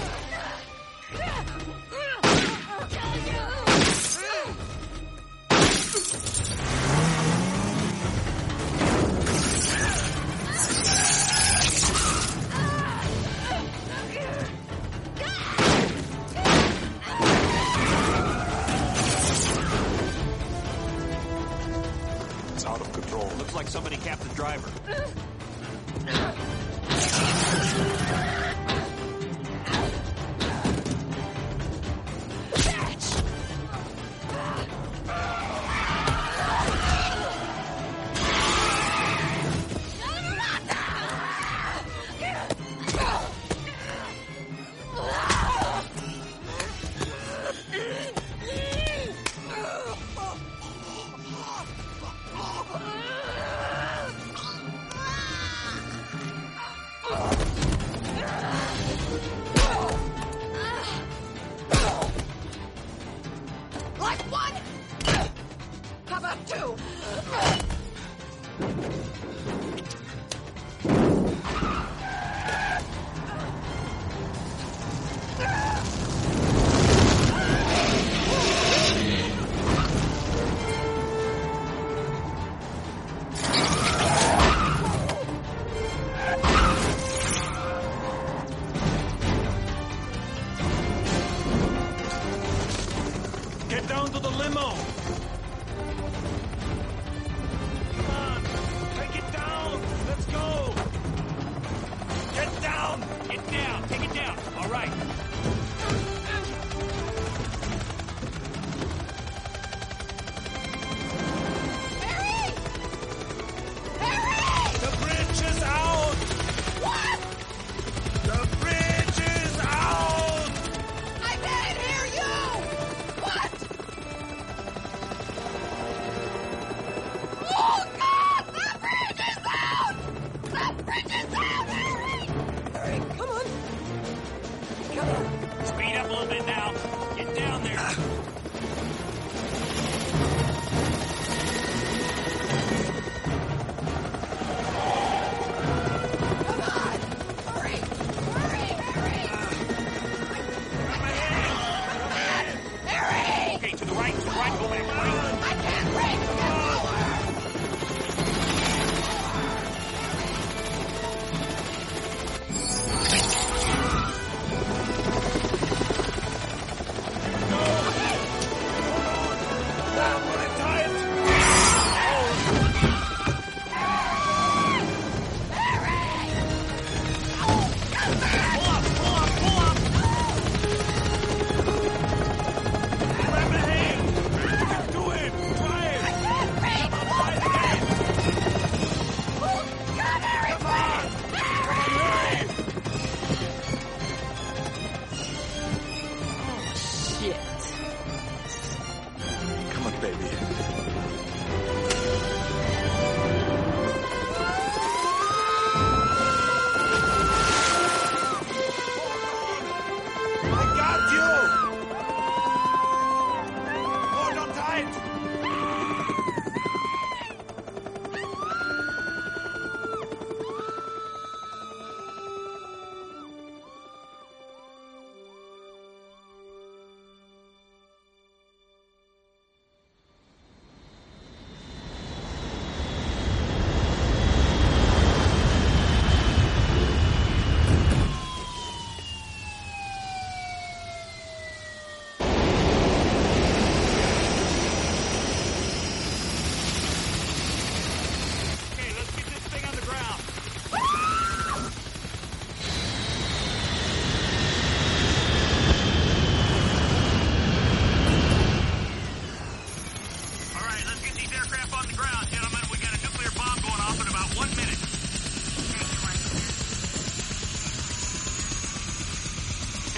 It's out of control. Looks like somebody capped the driver. Like one? How about two? Get down to the limo! Come on! Take it down! Let's go! Get down! Get down! Take it down! All right. The bridge is out! What? The bridge is out! I can't hear you! What?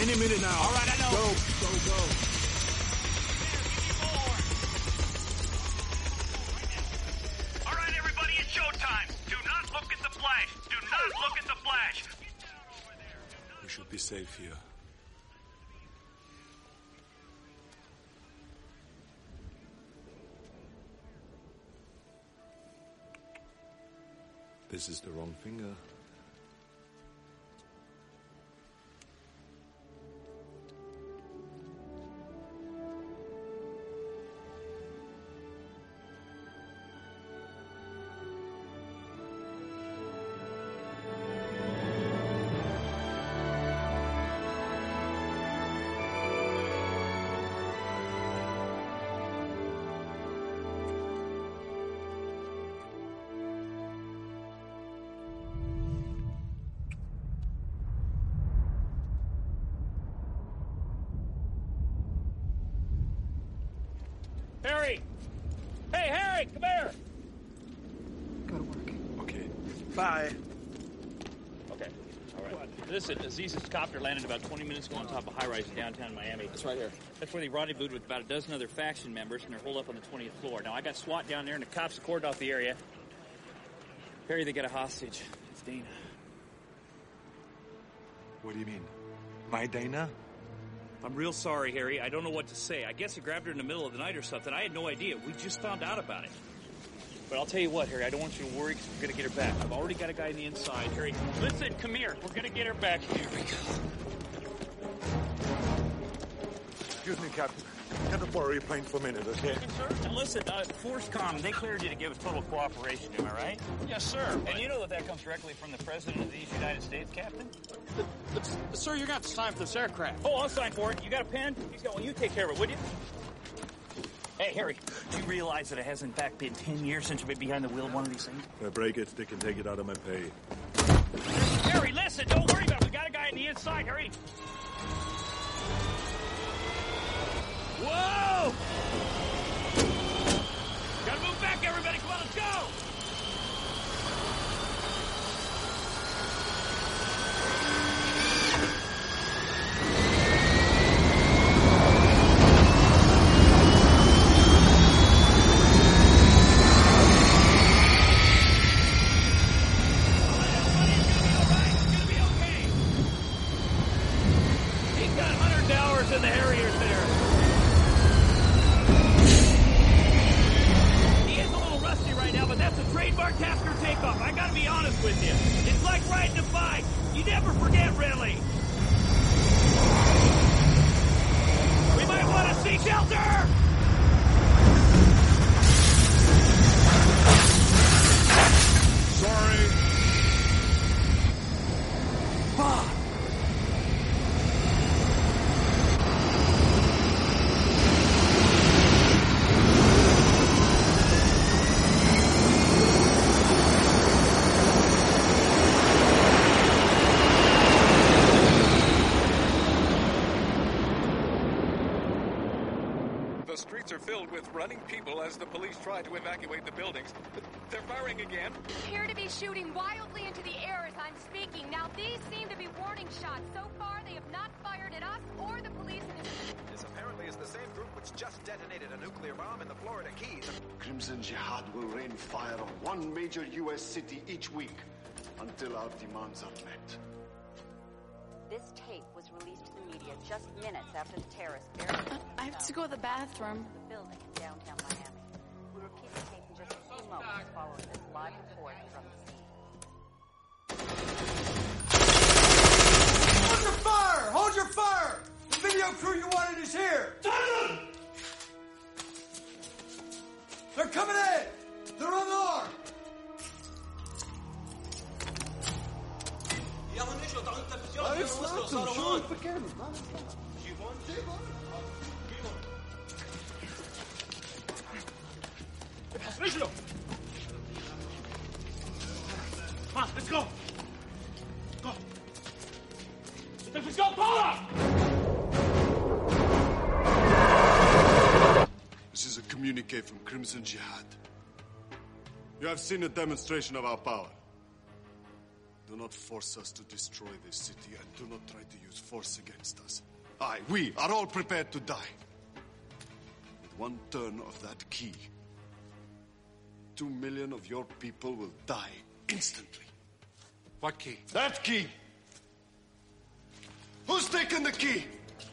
Any minute now. All right, I know. Go, go, go. All right, everybody, it's showtime. Do not look at the flash. Do not look at the flash. We should be safe here. This is the wrong finger. Harry! Hey, Harry, come here! Gotta work. Okay. Bye. Okay, all right. Listen, Aziz's copter landed about twenty minutes ago on top of a high-rise in downtown Miami. That's right here. That's where they rendezvoused with about a dozen other faction members, and they're holed up on the twentieth floor. Now, I got SWAT down there, and the cops have cordoned off the area. Harry, they got a hostage. It's Dana. What do you mean? My Dana? I'm real sorry, Harry. I don't know what to say. I guess I grabbed her in the middle of the night or something. I had no idea. We just found out about it. But I'll tell you what, Harry, I don't want you to worry because we're going to get her back. I've already got a guy on the inside. Harry, listen, come here. We're going to get her back. Here we go. Excuse me, Captain. Can I borrow your plane for a minute, okay? Yes, sir. And listen, uh, ForceCom, they cleared you to give us total cooperation, am I right? Yes, sir. And you know that that comes directly from the President of these United States, Captain? But, but, sir, you're going to have to sign for this aircraft. Oh, I'll sign for it. You got a pen? He's got one. You take care of it, would you? Hey, Harry, do you realize that it has, in fact, been ten years since you've been behind the wheel of one of these things? If I break it, they can take it out of my pay. Harry, listen, don't worry about it. We got a guy on the inside. Harry. Whoa! Gotta move back, everybody. Come on, let's go! In the Harriers there. He is a little rusty right now, but that's a trademark Tasker takeoff. I gotta be honest with you. It's like riding a bike. You never forget, really. We might want to seek shelter! Sorry. Fuck. The streets are filled with running people as the police try to evacuate the buildings. They're firing again. Appear to be shooting wildly into the air as I'm speaking. Now, these seem to be warning shots. So far, they have not fired at us or the police in this... This apparently is the same group which just detonated a nuclear bomb in the Florida Keys. Crimson Jihad will rain fire on one major U S city each week until our demands are met. This tape was released to the media just minutes after the terrorists barricaded I have to go to the bathroom. the building in downtown Miami. We repeat the tape in just a few moments following this live report from the scene. Hold your fire! Hold your fire! The video crew you wanted is here! They're coming in! They're unarmed! ما يصلحكم شو الفكر؟ رجله! Come on, let's go! Go! Let's go, Paula! This is a communique from Crimson Jihad. You have seen a demonstration of our power. Do not force us to destroy this city, and do not try to use force against us. I, we, are all prepared to die. With one turn of that key, two million of your people will die instantly. What key? That key! Who's taken the key?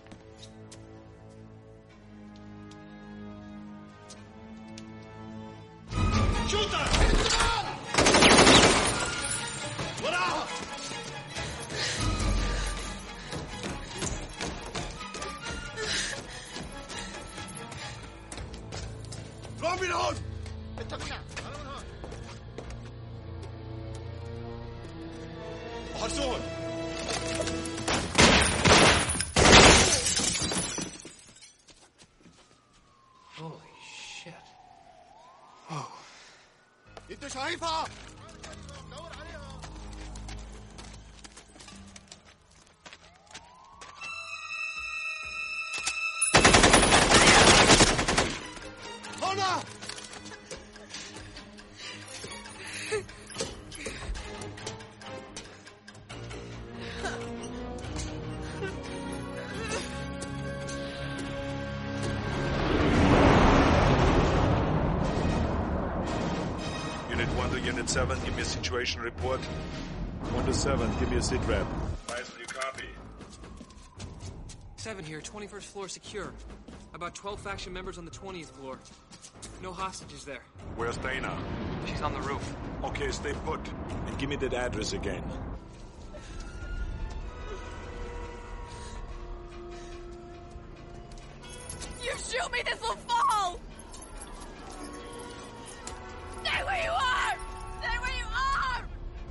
Shoot her! What out? Drop it on! Hazor! Holy shit. Oh. انت شايفها؟ هنا! Unit seven, give me a situation report. one to seven, give me a sit rep. Faisal, you copy? Seven here, twenty-first floor secure. About twelve faction members on the twentieth floor. No hostages there. Where's Dana? She's on the roof. Okay, stay put. And give me that address again. You shoot me, this will fall! Stay where you are! Stay where you are!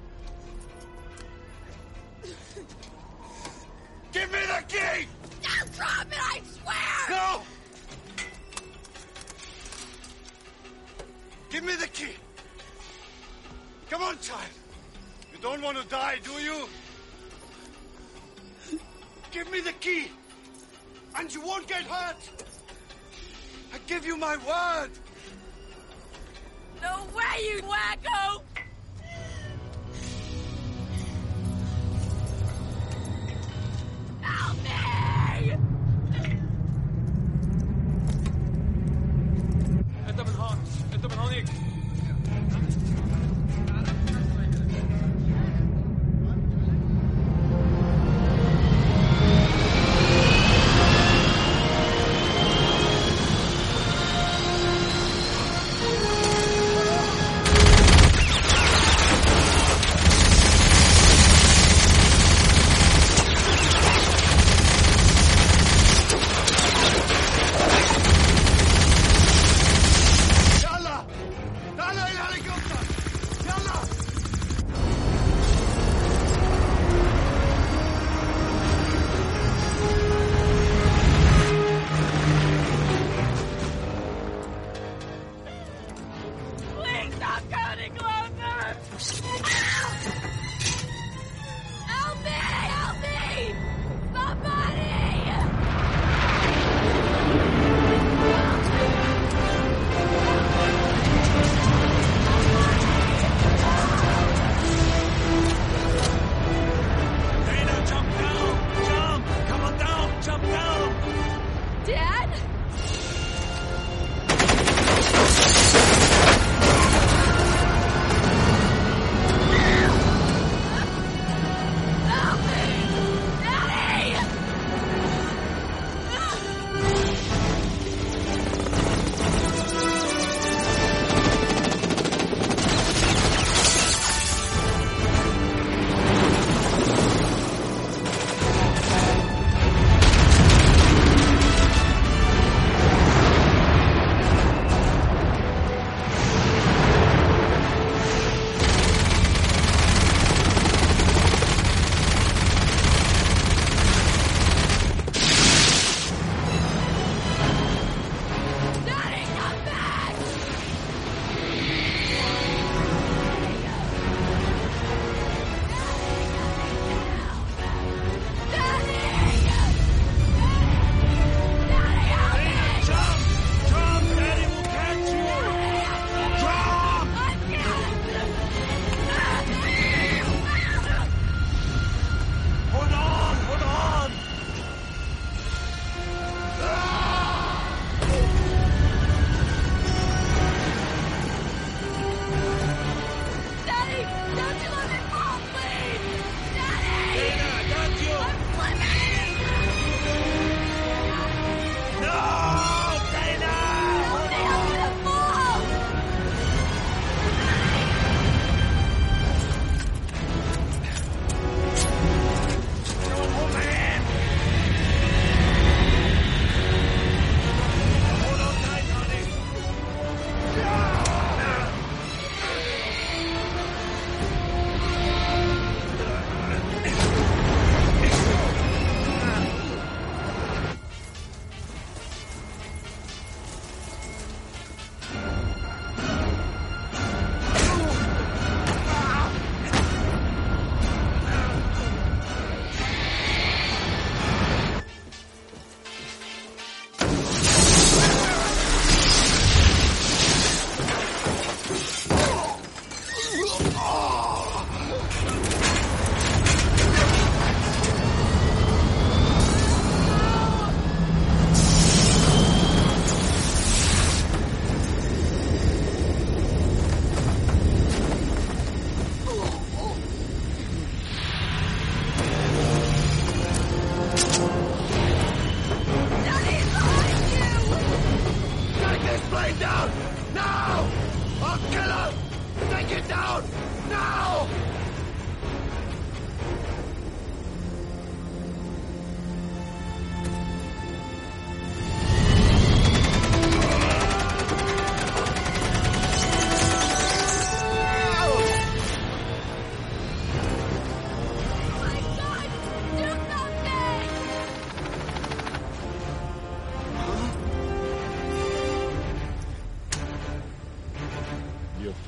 Give me the key! Don't drop it, I swear! No! Give me the key! Come on, child! You don't want to die, do you? Give me the key! And you won't get hurt! I give you my word! No way, you wacko! Help me! انت من هون انت من هونيك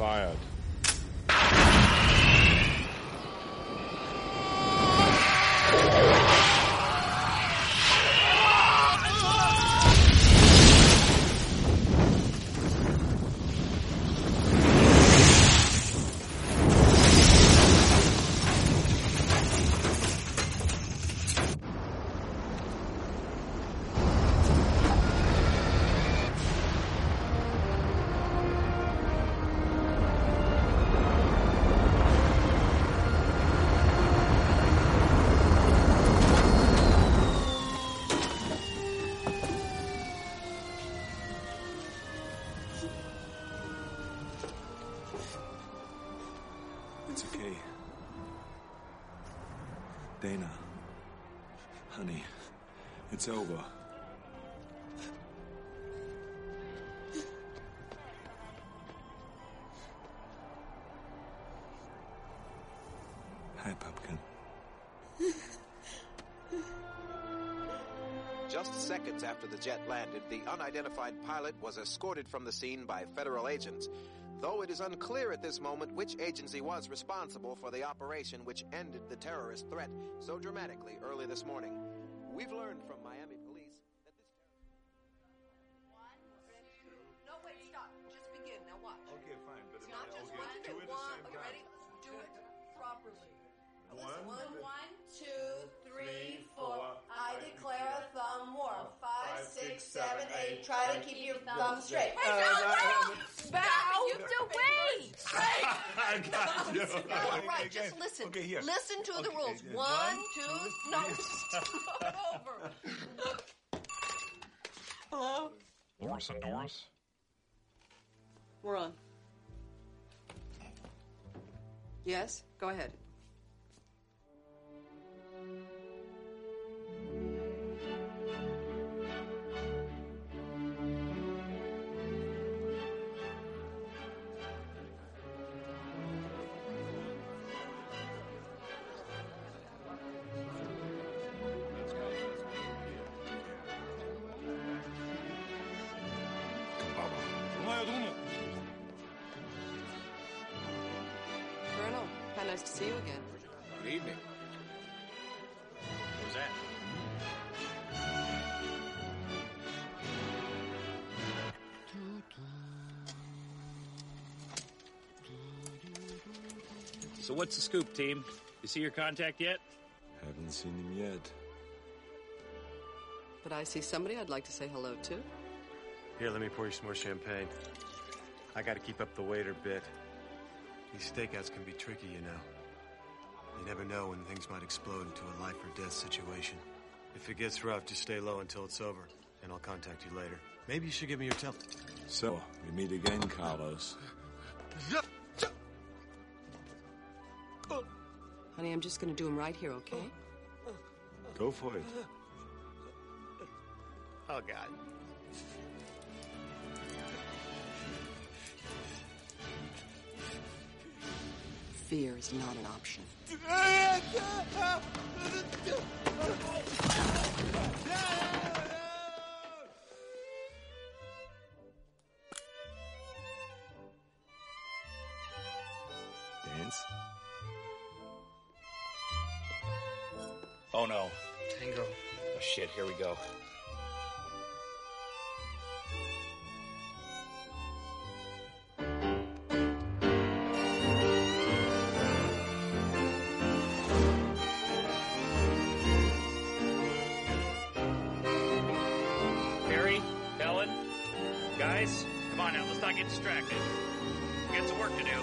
fired. It's okay. Dana. Honey, it's over. Hi, Pumpkin. Just seconds after the jet landed, the unidentified pilot was escorted from the scene by federal agents, though it is unclear at this moment which agency was responsible for the operation which ended the terrorist threat so dramatically early this morning. We've learned from Miami police that this... No, wait, stop. Just begin. Now watch. Okay, fine, but It's not just one, two at the one. same Are you time. ready? Do it properly. One, One, one, two, three, four. I declare a thumb war. Five, six, seven, eight. Try to keep your thumb straight. Hey, no, no! Bow! You do wait! I got you. All right, just listen. Okay, here. Listen to the Okay, rules. yeah. One, One, two, two, no, three. start over. Hello? Loris and Doris? We're on. Yes, go ahead. Colonel, how nice to see you again. Good evening. Who's that? So what's the scoop, team? You see your contact yet? Haven't seen him yet. But I see somebody I'd like to say hello to. Here, let me pour you some more champagne. I gotta keep up the weight a bit. These stakeouts can be tricky, you know. You never know when things might explode into a life or death situation. If it gets rough, just stay low until it's over, and I'll contact you later. Maybe you should give me your tel- So, we meet again, Carlos. Honey, I'm just going to do him right here, okay? Go for it. Oh, God. Fear is not an option. Dance? Oh no. Tango. Oh shit, here we go. Harry, Helen, guys, come on now, let's not get distracted. We got some work to do.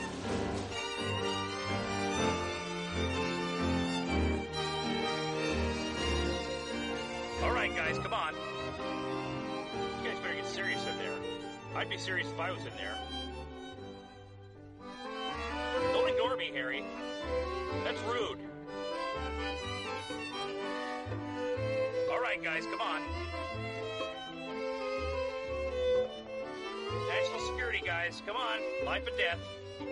All right, guys, come on. You guys better get serious in there. I'd be serious if I was in there. Don't ignore me, Harry. That's rude. All right, guys, come on. National security, guys. Come on. Life and death.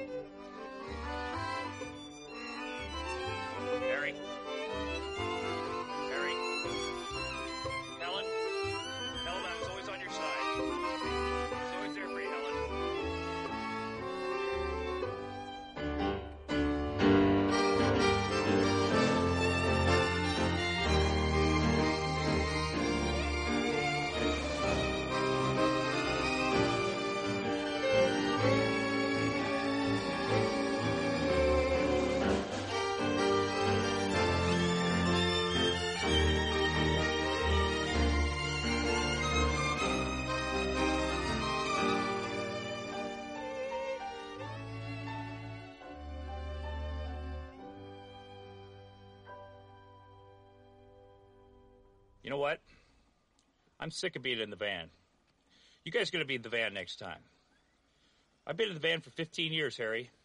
Harry. Harry. Helen. Helen, I was always on your side. I was always there for you, Helen. You know what? I'm sick of being in the van. You guys are going to be in the van next time. I've been in the van for fifteen years, Harry.